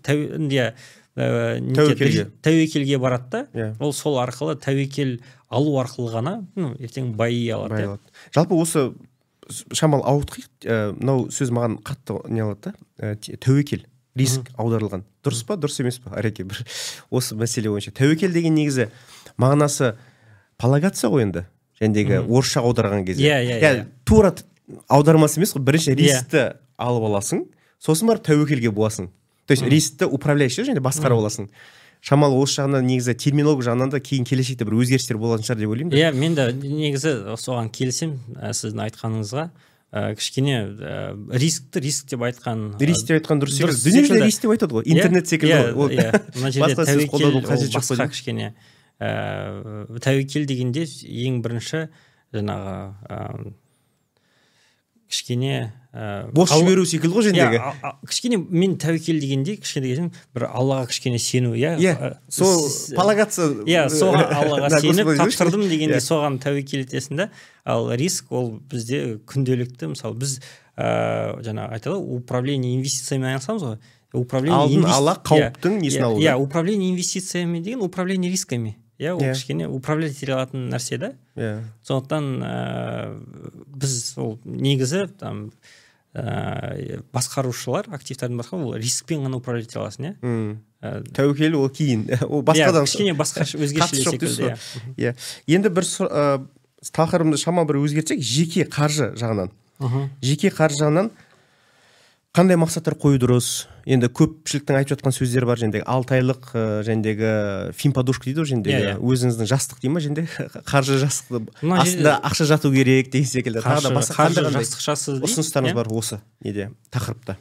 тәуекелге барады да. Ол сол арқылы тәуекел алу арқылы ғана ертең байи алады. Жалпы осы шамал ауытқиық, мынау сөз маған қатты не алады да, тәуекел, риск аударылған. Дұрыс па, дұрыс емес па, Ареке? Осы мәселе бойынша. Тәуекел деген негізі мағынасы полагаться ғой енді, жәндегі орысша аударған кезде. Тура аудармасы емес қой, бірінші рискті алып аласың, сосын барып тәуекелге боласың. То есть рискті управляющий және басқара боласың. Шамалы осы жағынан негізі терминолог жағынан да кейін келешекте бір өзгерістер болатын шығар деп ойлаймын. Мен де негізі соған келісем, сіздің айтқаныңызға. Кішкене риск деп айтқан дұрыс секілді. Дүниежүзінде риск деп айтады ғой, интернет секілді. Мына жерде тәуекел басқа кішкене. Тәуекел дегенде ең бірінші жаңағы кішкене бос жіберу секілді ғой жендегі. Кішкене мен тәуекел дегенде кішкене бір Аллаға кішкене сену, сол полагаться, соған Аллаға сеніп тапсырдым дегенде соған тәуекел етесің да. Ал риск ол бізде күнделікті, мысалы біз жаңа айтады, управление инвестициямен айналысамыз ғой. Алдын ала қауіптің несін алу. Управление инвестициямен деген управление рисками. Ол кішкене управлять ете алатын нәрсе да. Сондықтан біз ол негізі басқарушылар, активтердің басқа, ол рискпен ғана управлять ете аласың. Тәуекел ол кейін. Ол басқадан кішкене басқа өзгешелік секілді. Енді бір тақырыбымды шамалы бір өзгертсек, жеке қаржы жағынан. Жеке қаржы жағынан қандай мақсаттар қою дұрыс? Енді көпшіліктің айтып жатқан сөздер бар, жендегі 6 айлық, жендегі финподушка дейді, жендегі өзіңіздің жастық дейді ма, женде қаржы жастықты астында ақша жату керек деген секілді. Қаржы жастықшасы ұсыныстарыңыз бар осы неде тақырыпта?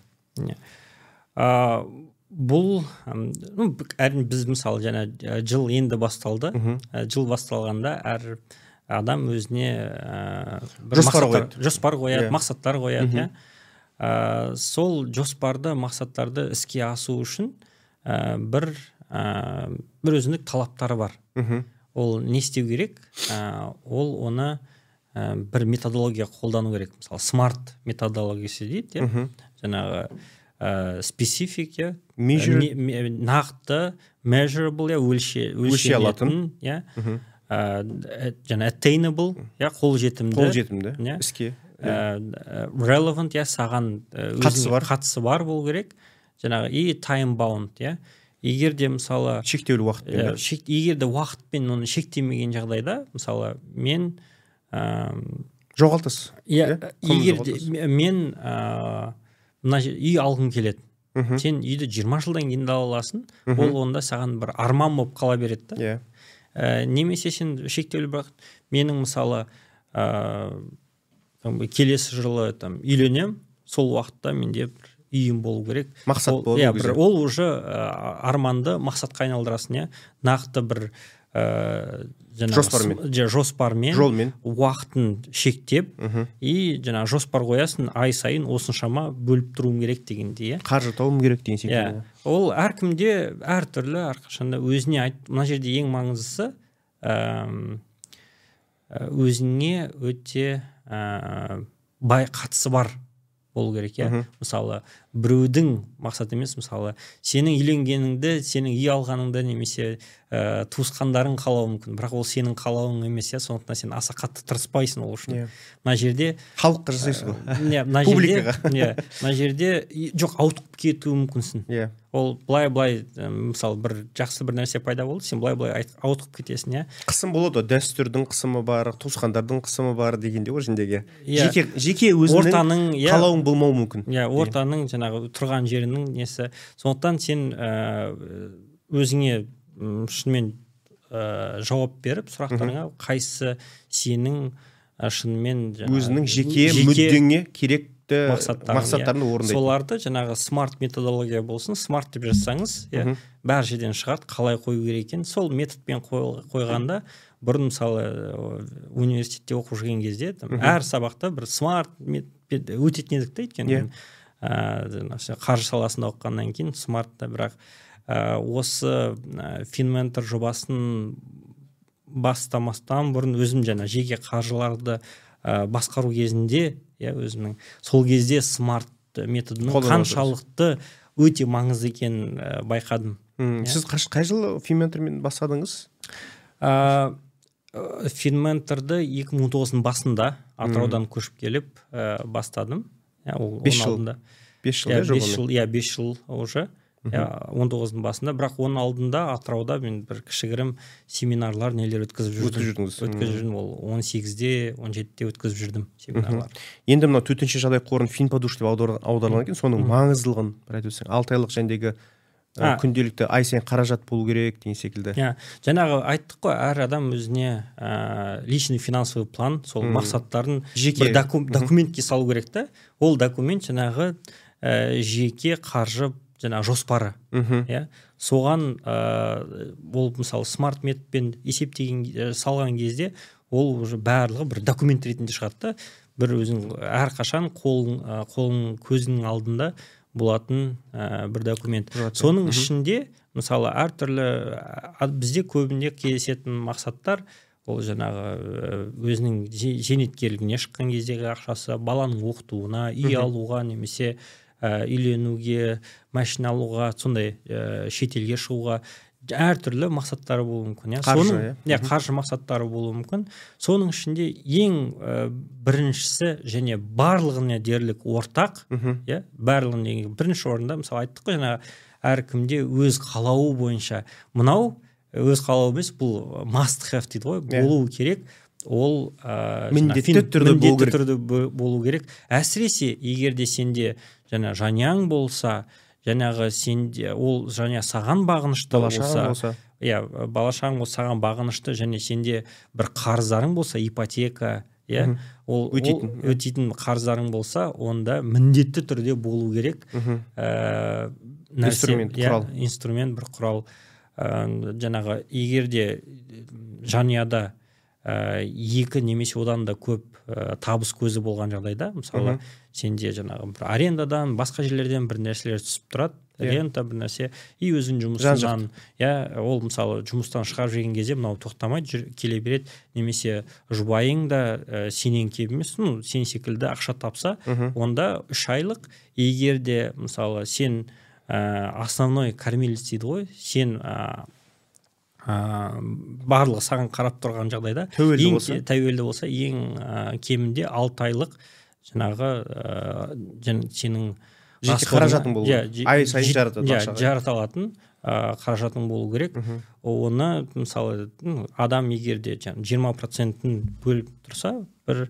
Бұл әрине біз мысалы жаңа жыл енді басталды. Жыл басталғанда әр адам өзіне жоспар қояды, мақсаттар қояды. Сол жоспарды, мақсаттарды іске асу үшін бір өзіндік талаптары бар. Ол не істеу керек? Ол оны бір методология қолдану керек. Мысалы, смарт методологиясы дейді. Жаңағы специфик, нақты, measurable, өлше алатын, жаңа attainable, қолжетімді іске. Relevant, саған қатысы бар болу керек. Жаңағы и time bound, егер де мысалы шектеулі уақытпен, егер де уақытпен оны шектемеген жағдайда, мысалы мен жоғалтасыз. Егер де мен мына үй алғым келеді. Сен үйді 20 жылдан кейін ала аласың, ол онда саған бір арман болып қала береді да. Немесе сен шектеулі бірақ менің мысалы келесі жылы үйленем, сол уақытта менде бір үйім болу керек. Мақсат болу керек. Ол уже арманды мақсатқа айналдырасың, нақты бір жоспармен уақытын шектеп, и жоспар қоясың, ай сайын осыншама бөліп тұруым керек дегенде. Қаржы тауым керек деген секілді. Ол әркімде әртүрлі, әрқашанда өзіне айт. Мына жерде ең маңыздысы өзіңе өте бай қатысы бар болу керек, иә. Мысалы біреудің мақсаты емес, мысалы сенің үйленгеніңді, сенің үй алғаныңды немесе туысқандарың қалауы мүмкін, бірақ ол сенің қалауың емес, иә. Сондықтан сен аса қатты тырыспайсың ол үшін. Мына жерде халыққа жасайсың ғой. Мына жерде мына жерде жоқ, ауытқып кетуі мүмкінсің. Ол былай мысалы бір жақсы бір нәрсе пайда болды, сен былай ауытқып кетесің, иә. Қысым болады, дәстүрдің қысымы бар, туысқандардың қысымы бар дегенде ғой ішіндегі. Жеке өзіңнің қалауың болмауы мүмкін. Иә, ортаның жаңағы тұрған жерінің несі. Сондықтан сен өзіңе шынымен жауап беріп сұрақтарыңа, қайсысы сенің шынымен өзінің жеке мүддеңе керекті мақсаттарын орындайды. Соларды жаңағы смарт методология болсын, смарт деп жазсаңыз, бәр жерден шығады, қалай қою керек екен. Сол методпен қойғанда, бұрын мысалы университетте оқып жүрген кезде әр сабақта бір смарт өтетін едік та, өйткені қаржы саласында оқығаннан кейін смартта, бірақ осы FinMentor жобасын бастамастан бұрын өзім жаңа жеке қаржыларды басқару кезінде, өзімнің сол кезде смарт методының қаншалықты өте маңызды екенін байқадым. Сіз қай жылы FinMentorмен бастадыңыз? FinMentorды 2019-ның басында Атыраудан көшіп келіп бастадым. 5 жыл. 5 жыл, 5 жыл уже. 19-ның басында, бірақ оның алдында Атырауда мен бір кішігірім семинарлар нелер өткізіп жүрдім. Ол 18-де, 17-де өткізіп жүрдім семинарлар. Енді мына төтенше жағдай қорын FinPodush деп аударылған екен, соның маңыздылығын бір айтып өтсең, 6 айлық жәндегі күнделікті ай сайын қаражат болу керек деген секілді. Жаңағы айттық қой, әр адам өзіне личный финансовый план, сол мақсаттарын бір документке салу керек та. Ол документ жаңағы жеке қаржы жаңағы жоспары. Соған ол мысалы смарт методпен есептеген салған кезде ол уже барлығы бір документ ретінде шығады. Бір өзің әрқашан қолың көзінің алдында болатын бір документ. Соның ішінде мысалы әртүрлі бізде көбінде кездесетін мақсаттар ол жаңағы өзінің зейнеткерлігіне шыққан кездегі ақшасы, баланың оқытуына, үй алуға немесе үйленуге, машина алуға, сондай шетелге шығуға әртүрлі мақсаттары болуы мүмкін. Қаржы мақсаттары болуы мүмкін. Соның ішінде ең біріншісі және барлығына дерлік ортақ, барлығына бірінші орында, мысалы айттық қой, әркімде өз қалауы бойынша, мынау өз қалауы емес, бұл must have дейді ғой, болуы керек. Ол міндетті түрде болу керек. Әсіресе егерде сенде жаняң болса, жаңағы сенде ол жаңа саған бағынышты болса, балашағың болса саған бағынышты, және сенде бір қарыздарың болса, ипотека, ол өтейтін қарыздарың болса, онда міндетті түрде болу керек. Инструмент, бір құрал. Жаңағы егерде жанұяда екі немесе одан да көп табыс көзі болған жағдайда, мысалы сенде жаңағы бір арендадан, басқа жерлерден бір нәрселер түсіп тұрады, рента бір нәрсе, и өзің жұмысынан, ол мысалы жұмыстан шығарып жүрген кезде мынау тоқтамайды, келе береді, немесе жұбайың да сенен кем емес, сен секілді ақша тапса, онда 3 айлық, егерде мысалы сен основной кормилец дейді ғой, сен барлығы саған қарап тұрған жағдайда тәуелді болса, ең кемінде 6 айлық жаңағы сенің жеке қаражатың болу, ай сайын жарата алатын қаражатың болу керек. Оны мысалы адам егерде 20%-ін бөліп тұрса, бір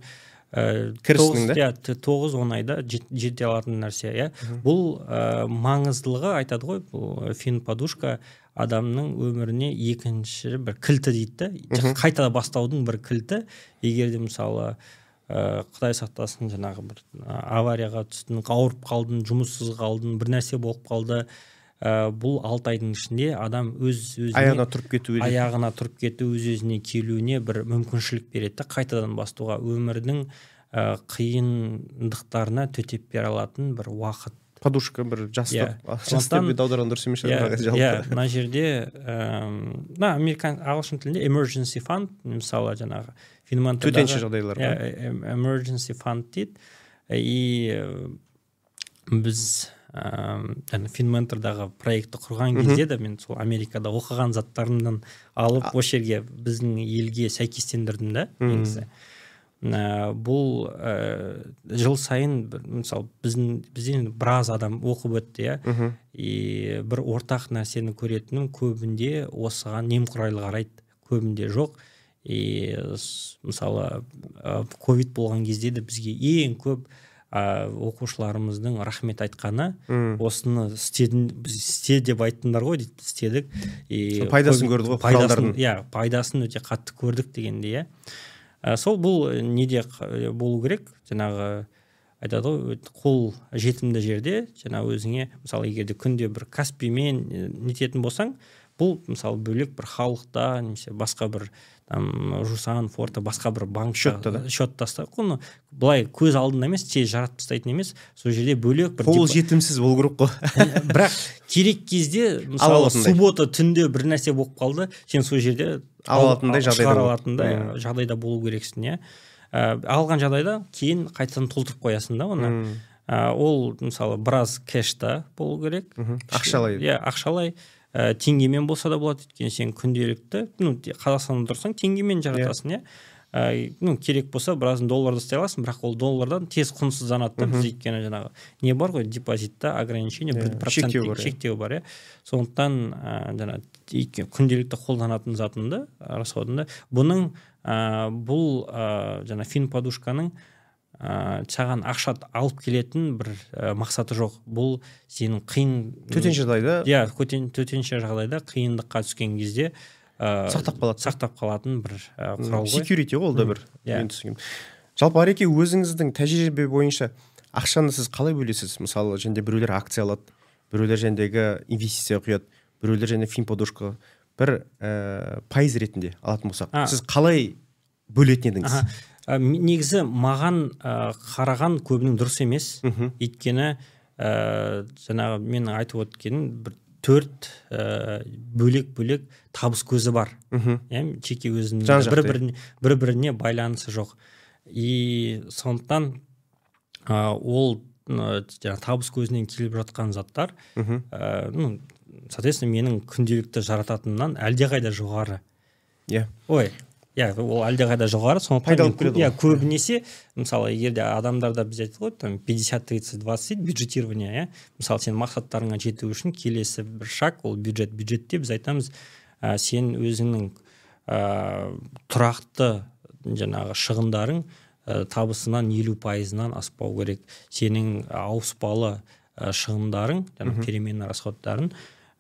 9-10 айда жете алатын нәрсе. Бұл маңыздылығы айтады ғой, бұл FinPodushка адамның өміріне екінші бір кілті дейді, қайтада бастаудың бір кілті. Егерде мысалы Құдай сақтасын, жаңағы бір аварияға түстің, ауырып қалдың, жұмыссыз қалдың, бір нәрсе болып қалды, бұл 6 айдың ішінде адам аяғына тұрып кету, өз-өзіне келуіне бір мүмкіншілік береді, қайтадан бастауға, өмірдің қиындықтарына төтеп бере алатын бір уақыт. Подушка бір жастық деп аударған дұрыс емес шығар. Мына жерде ағылшын тілінде emergency fund, мысалы жаңағы төтенше жағдайлар. Emergency fund дейді. И біз FinMentor'дағы проектті құрған кезде де мен сол Америкада оқыған заттарымдан алып осы жерге біздің елге сәйкестендірдім да негізі. Бұл жыл сайын мысалы бізден біраз адам оқып өтті, и бір ортақ нәрсені көретінім көбінде осыған немқұрайлы қарайды, көбінде жоқ. И мысалы ковид болған кезде де бізге ең көп оқушыларымыздың рахмет айтқаны осыны істе деп айттыңдар ғой дейді, істедік. Пайдасын көрді ғой құралдардың. Пайдасын өте қатты көрдік дегенде. Сол бұл неде болу керек, жаңағы айтады ғой, қол жетімді жерде, жаңағы өзіңе, мысалы, егерде күнде бір Каспимен нететін болсаң, бұл мысалы бөлек бір халықта, немесе басқа бір Жусан, Форта, басқа бір банк счет таста, оны былай көз алдында емес, тез жаратып тастайтын емес, сол жерде бөлек бір қол жетімсіз болу керек қой. Бірақ керек кезде, мысалы, суббота түнде бір нәрсе болып қалды, сен сол жерде шығара алатындай жағдайда болу керексің, алған жағдайда кейін қайтадан толтырып қоясың да оны. Ол мысалы біраз кэшта болу керек. Ақшалай. Ақшалай. Теңгемен болса да болады, өйткені сен күнделікті, Қазақстанда тұрсаң, теңгемен жаратасың, керек болса біразын долларда істей аласың, бірақ ол доллардан тез құнсызданады. Біз өйткені жаңағы не бар ғой, депозитта ограничение 1% шектеу бар, сондықтан жаңағы күнделікті қолданатын затында, расходында. Бұның бұл жаңа финподушканың саған ақша алып келетін бір мақсаты жоқ. Бұл сенің қиын төтенше жағдайда, төтенше жағдайда қиындыққа түскен кезде сақтап қалатын бір құрал ғой. Security ғой, ол да бір. Жалпы Ареке, өзіңіздің тәжірибе бойынша ақшаны сіз қалай бөлесіз? Мысалы, және біреулер акция алады, біреулер жәндегі инвестиция құяды, біреулер және финподушка бір пайыз ретінде алатын болсақ, сіз қалай бөлетін едіңіз? Негізі маған қараған көбінің дұрыс емес, өйткені жаңағы мен айтып өткенім бір 4 бөлек табыс көзі бар. Жеке өзінің бір-біріне байланысы жоқ. И сондықтан ол табыс көзінен келіп жатқан заттар, соответственно, менің күнделікті жарататыннан әлдеқайда жоғары. Ол әлдеқайда жоғары, сондықтан көбінесе, мысалы, егерде адамдарда біз айтып ғой, 50-30-20 бюджетирование, мысалы, сен мақсаттарыңа жету үшін келесі бір шаг, ол бюджетте біз айтамыз, сен өзіңнің тұрақты жаңағы шығындарың табысынан 50%-нан аспау керек. Сенің ауыспалы шығындарың, переменный расходтарын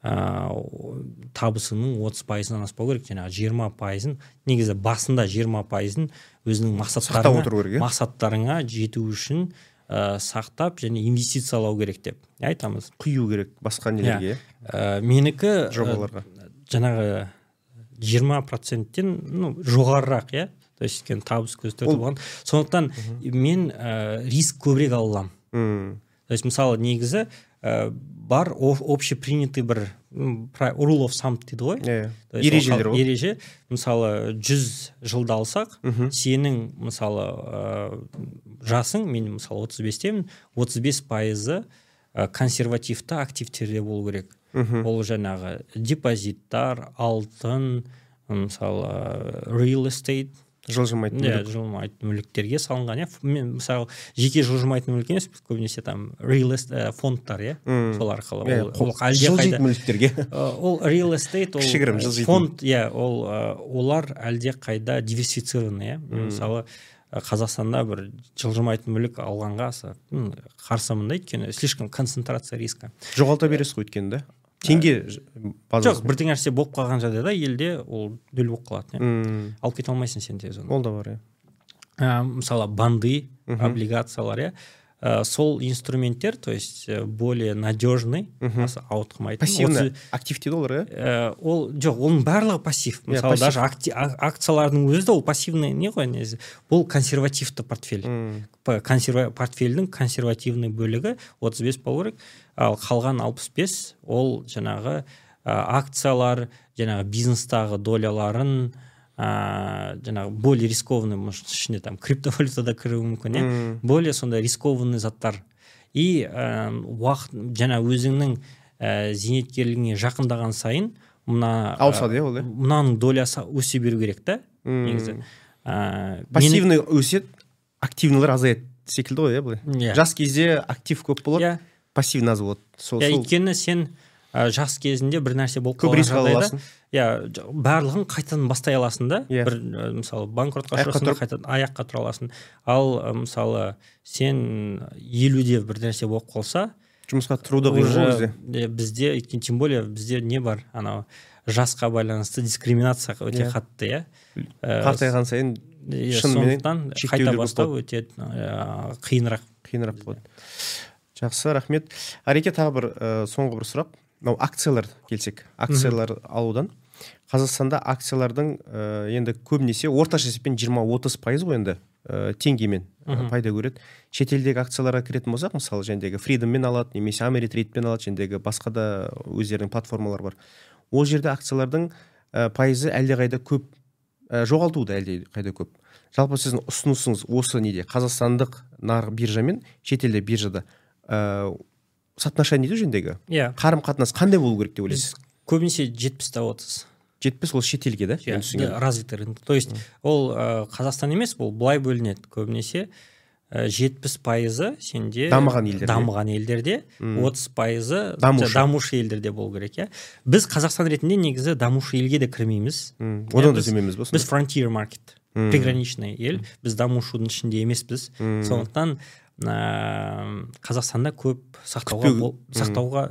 табысының 30%-нан аспау керек, жаңағы 20%-ын, негізі басында 20%-ын өзінің мақсаттарыңа жету үшін сақтап және инвестициялау керек деп айтамыз. Құю керек басқа нелерге. Менікі жобаларға. Жаңағы 20%-тен жоғарырақ, то есть табыс көзі төрті болған. Сондықтан мен риск көбірек алам. То есть мысалы негізі бар общепринятый бір rule of thumb дейді ғой. Ережелер ғой. Ереже, мысалы 100 жылда алсақ, сенің мысалы жасың, мен мысалы 35-темін, 35% консервативті активтерде болу керек. Ол жаңағы депозиттар, алтын, мысалы real estate, жылжымайтын мүліктерге салынған. Мен мысалы жеке жылжымайтын мүлік емес, көбінесе real estate фондтар, сол арқылы. Жылжитын мүліктерге. Ол real estate, фонд, олар әлде қайда диверсифицированы. Мысалы Қазақстанда бір жылжымайтын мүлік алғанға қарсымын, өйткені слишком концентрация риска. Жоғалта бересіз ғой өйткені, да? Теңге жоқ, бірдеңе нәрсе болып қалған жағдайда елде ол нөл болып қалады. Алып кете алмайсың сен тез оны. Ол да бар, мысалы банды, облигациялар, сол инструменттер, то есть более надежный, ауытқымайтын. Пассивный актив дейді олар, ол жоқ, оның барлығы пассив. Мысалы даже акциялардың өзі де ол пассивный не ғой, бұл консервативті портфель. Портфельдің консервативный бөлігі 35 болу керек, ал қалған 65 ол жаңағы акциялар, жаңағы бизнестағы доляларын, жаңағы более рискованный, ішінде криптовалютада кіруі мүмкін, более сондай рискованный заттар. и уақыт жаңа өзіңнің зейнеткерлігіңе жақындаған сайын ауысады ол мынаның долясы өсе беру керек та негізі. Пассивный өсет, активныйлар азаяды секілді ғой, былай. Жас кезде актив көп болады, пассивный аз болады. Өйткені сен жас кезінде бір нәрсе болып қалған жағдайда, барлығын қайтадан бастай аласың да. Бір мысалы банкротқа ұшырасың, қайтадан аяққа тұра аласың. Ал мысалы сен 50-де бір нәрсе болып қалса, жұмысқа тұруды қиын бізде, тем более бізде не бар, анау жасқа байланысты дискриминация өте қатты, қартайған сайын сондықтан қайта бастау өте қиынырақ болады. Жақсы, рахмет. Ареке, тағы бір соңғы бір сұрақ. Акциялар келсек, акциялар алудан. Қазақстанда акциялардың енді көбінесе орташа есеппен 20-30% ғой енді теңгемен пайда көреді. Шетелдегі акцияларға кіретін болсақ, мысалы жәндегі Freedomмен алады, немесе Ameritrade'мен алады, жәндегі басқа да өздерінің платформалар бар. Ол жерде акциялардың пайызы әлдеқайда көп, жоғалтуы да әлдеқайда көп. Жалпы сіздің ұсынысыңыз осы неде? Қазақстандық нарық биржамен шетелде биржада соотношение жөніндегі қарым-қатынас қандай болу керек деп ойлайсыз? Көбінесе 70-30. 70 ол шетелге да? Развитый рынок. То есть ол Қазақстан емес, ол былай бөлінеді. Көбінесе 70% сенде дамыған елдерде, 30% дамушы елдерде болу керек. Біз Қазақстан ретінде негізі дамушы елге де кірмейміз. Одан да демеміз ба? Біз frontier market, приграничный ел, біз дамушының ішінде емеспіз. Сондықтан Қазақстанда көп сақтауға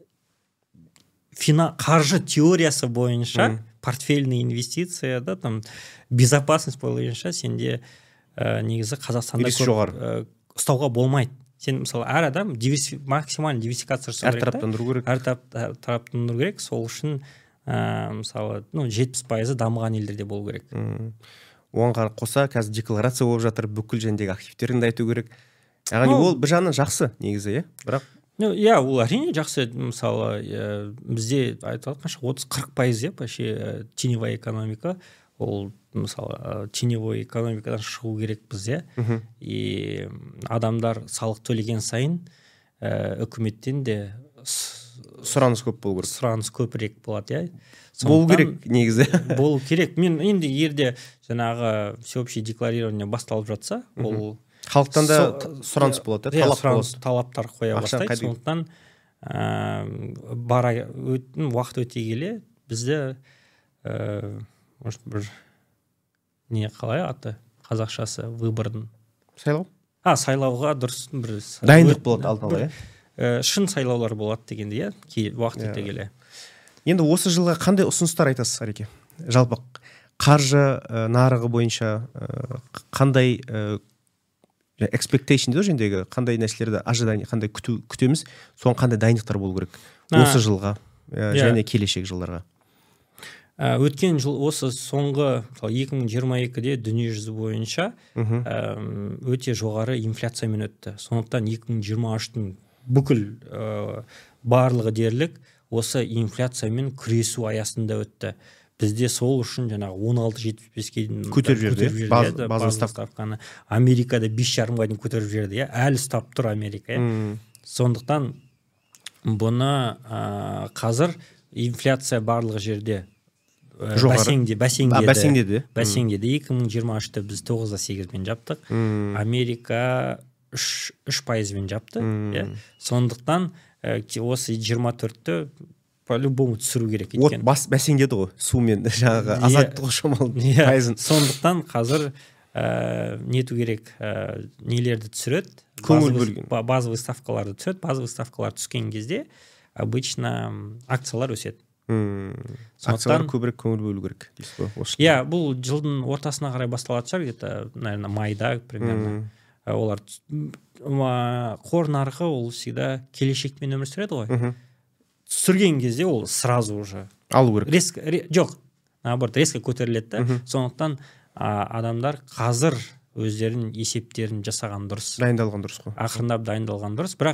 қаржы теориясы бойынша, портфельный инвестиция, там безопасность бойынша сенде негізі Қазақстанда ұстауға болмайды. Сен мысалы әр адам максимально диверсификация жасау керек. Әр тараптандыру керек. Сол үшін мысалы 70% дамыған елдерде болу керек. Оған қоса қазір декларация болып жатыр, бүкіл жәндегі активтерін айту керек. Яғни ол бір жағынан жақсы негізі, бірақ ол әрине жақсы. Мысалы бізде айтылған қанша 30-40% вообще теневая экономика. Ол мысалы теневой экономикадан шығу керекпіз, и адамдар салық төлеген сайын үкіметтен де сұраныс көп болу керек. Сұраныс көбірек болады, болу керек негізі. Болу керек. Мен енді ерде жаңағы всеобщее декларирование басталып жатса, ол халықтан да сұраныс болады, талаптар қоя бастайды. Сондықтан уақыт өте келе бізде может бір не қалай аты қазақшасы выбордың сайлауға дұрыс бір дайындық болады алдын ала, шын сайлаулар болады дегенде, уақыт өте келе. Енді осы жылға қандай ұсыныстар айтасыз, Ареке? Жалпы қаржы нарығы бойынша қандай expectation дейді жөндегі, қандай нәрселерді ожидание, қандай күтеміз, соған қандай дайындықтар болу керек осы жылға және келешек жылдарға? Өткен жыл осы соңғы 2022-де дүниежүзі бойынша өте жоғары инфляциямен өтті. Сондықтан 2023-тің бүкіл барлығы дерлік осы инфляциямен күресу аясында өтті. Бізде сол үшін жаңағы 16.75-ке көтеріп жерді, база ставканы. Америкада 5,5-ға дейін көтеріп жерді, әлі ұстап тұр Америка. Сондықтан бұны қазір инфляция барлығы жерде бәсеңдеді. 2023-те біз 9.8-мен жаптық. Америка 3%-мен жапты. Сондықтан осы 24-те по-любому түсіру керек. Бәсеңдеді ғой, сумен жаңағы азайтты ғой шамалы пайызын. Сондықтан қазір нету керек, нелерді түсіреді, базовый ставкаларды түсіреді. Базовый ставкалар түскен кезде обычно акциялар өседі. Акциялар көбірек көңіл бөлу керек дейсіз ғой? Бұл жылдың ортасына қарай басталатын шығар, где-то, наверное, майда примерно. Олар қор нарығы ол всегда келешекпен өмір сүреді ғой. Түсірген кезде ол сразу уже алу керек. Жоқ, наоборот, резко көтеріледі да. Сондықтан адамдар қазір өздерінің есептерін жасаған дұрыс. Дайындалған дұрыс қой. Ақырындап дайындалған дұрыс. Бірақ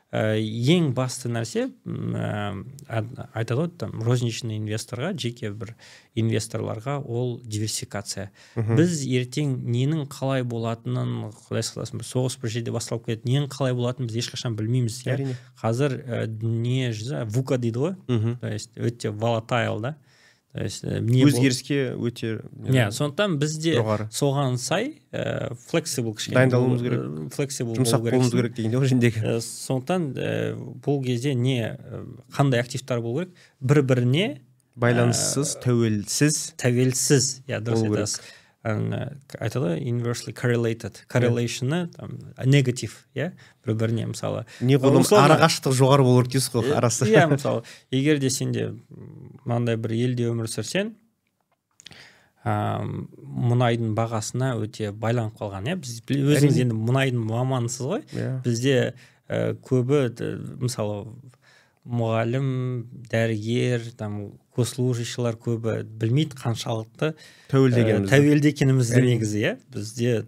ең басты нәрсе айтады ғой там розничный инвесторға, жеке бір инвесторларға ол диверсификация. Біз ертең ненің қалай болатынын, құдай сақтасын, бір соғыс бір жерде басталып кетеді, ненің қалай болатынын біз ешқашан білмейміз. Қазір дүние жүзі вука дейді ғой, то есть өте волатайл да. Өзгеріске өте сондықтан бізде соған сай флексибл дайындалуымыз керек, жұмсақ болуымыз керек дегенде ғой жендегі. Сондықтан бұл кезде қандай активтар болу керек, бір-біріне байланыссыз, тәуелсіз, дұрыс айтасыз. Айтады inversely correlated, correlation'ы негатив, бір-біріне мысалы. Неғұрлым арақашықтық жоғары болу керек дейсіз ғой арасы. Мысалы, егер де сенде мынандай бір елде өмір сүрсең, мұнайдың бағасына өте байланып қалған, біз өзіңіз енді мұнайдың маманысыз ғой. Бізде көбі мысалы мұғалім, дәрігер, госслужащийлар көбі білмейді қаншалықты тәуелді екенімізді негізі, бізде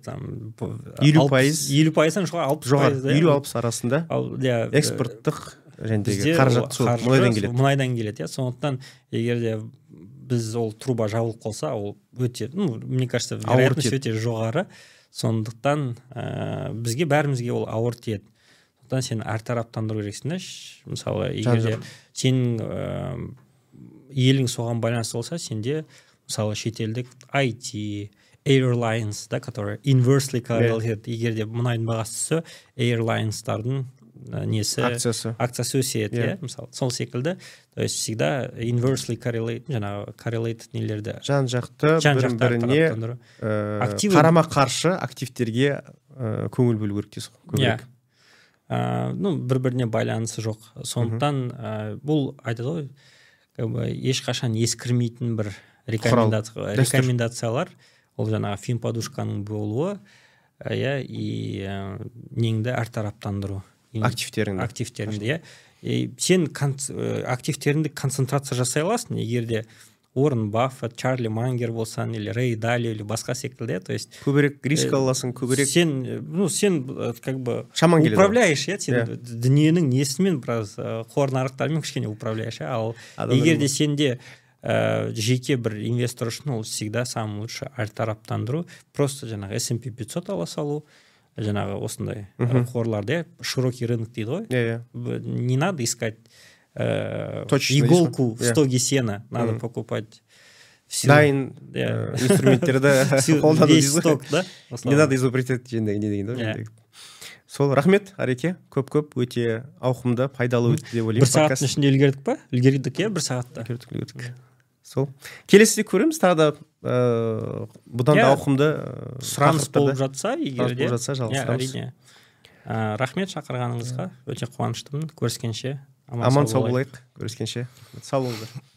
50%-тан жоғары 50-60 арасында экспорттық жәндегі қаражат мұнайдан келеді. Сондықтан егер де біз ол труба жабылып қалса, ол өте, мне кажется, вероятность өте жоғары. Сондықтан бізге бәрімізге ол ауыр тиеді. Сондықтан сен әртараптандыру керексің. Мысалы, егер де сенің елің соған байланысты болса, сенде мысалы шетелдік IT, Airlines, который inversely correlated, егер де мұнайдың бағасы түссе, Airlines'тардың акциясы өседі, мысалы, сол секілді, то есть всегда inversely correlated нелерді жан-жақты бір-біріне қарама-қарсы активтерге көңіл бөлу керек дейсіз ғой. Бір-біріне байланысы жоқ. Сондықтан бұл айтады ғой, ешқашан ескірмейтін бір рекомендациялар, ол жаңағы финподушканың болуы, и неңді әртараптандыру. Активтеріңді. Сен активтеріңді концентрация жасай аласың, егер де Уоррен Баффет, Чарли Мангер болсан, или Рэй Далио, или басқа секілді, то есть көбірек риск аласың, көбірек сен как бы управляешь, сен дүниенің несімен біраз қор нарықтарымен кішкене управляешь, ал егер де сенде жеке бір инвестор үшін ол всегда самый лучший әртараптандыру, просто жаңағы S&P 500 ала салу, жаңағы осындай қорларды, широкий рынок дейді ғой. Не надо искать иголку в стоге сена, надо покупать дайын инструменттерді қолдану дейсіз ғой. Не надо изобретать жендегі. Сол, рахмет, Ареке, көп-көп өте ауқымды, пайдалы өтті деп ойлаймын. Бір сағаттың ішінде үлгердік па? Үлгердік, бір сағатта. Сол. Келесіде көреміз, тағы да бұдан да ауқымды сұраныс болып жатса, егер де жалғастырамыз. Рахмет шақырғаныңызға, өте қуаныштымын. Көріскенше аман сау болайық. Көріскенше сау болыңыздар.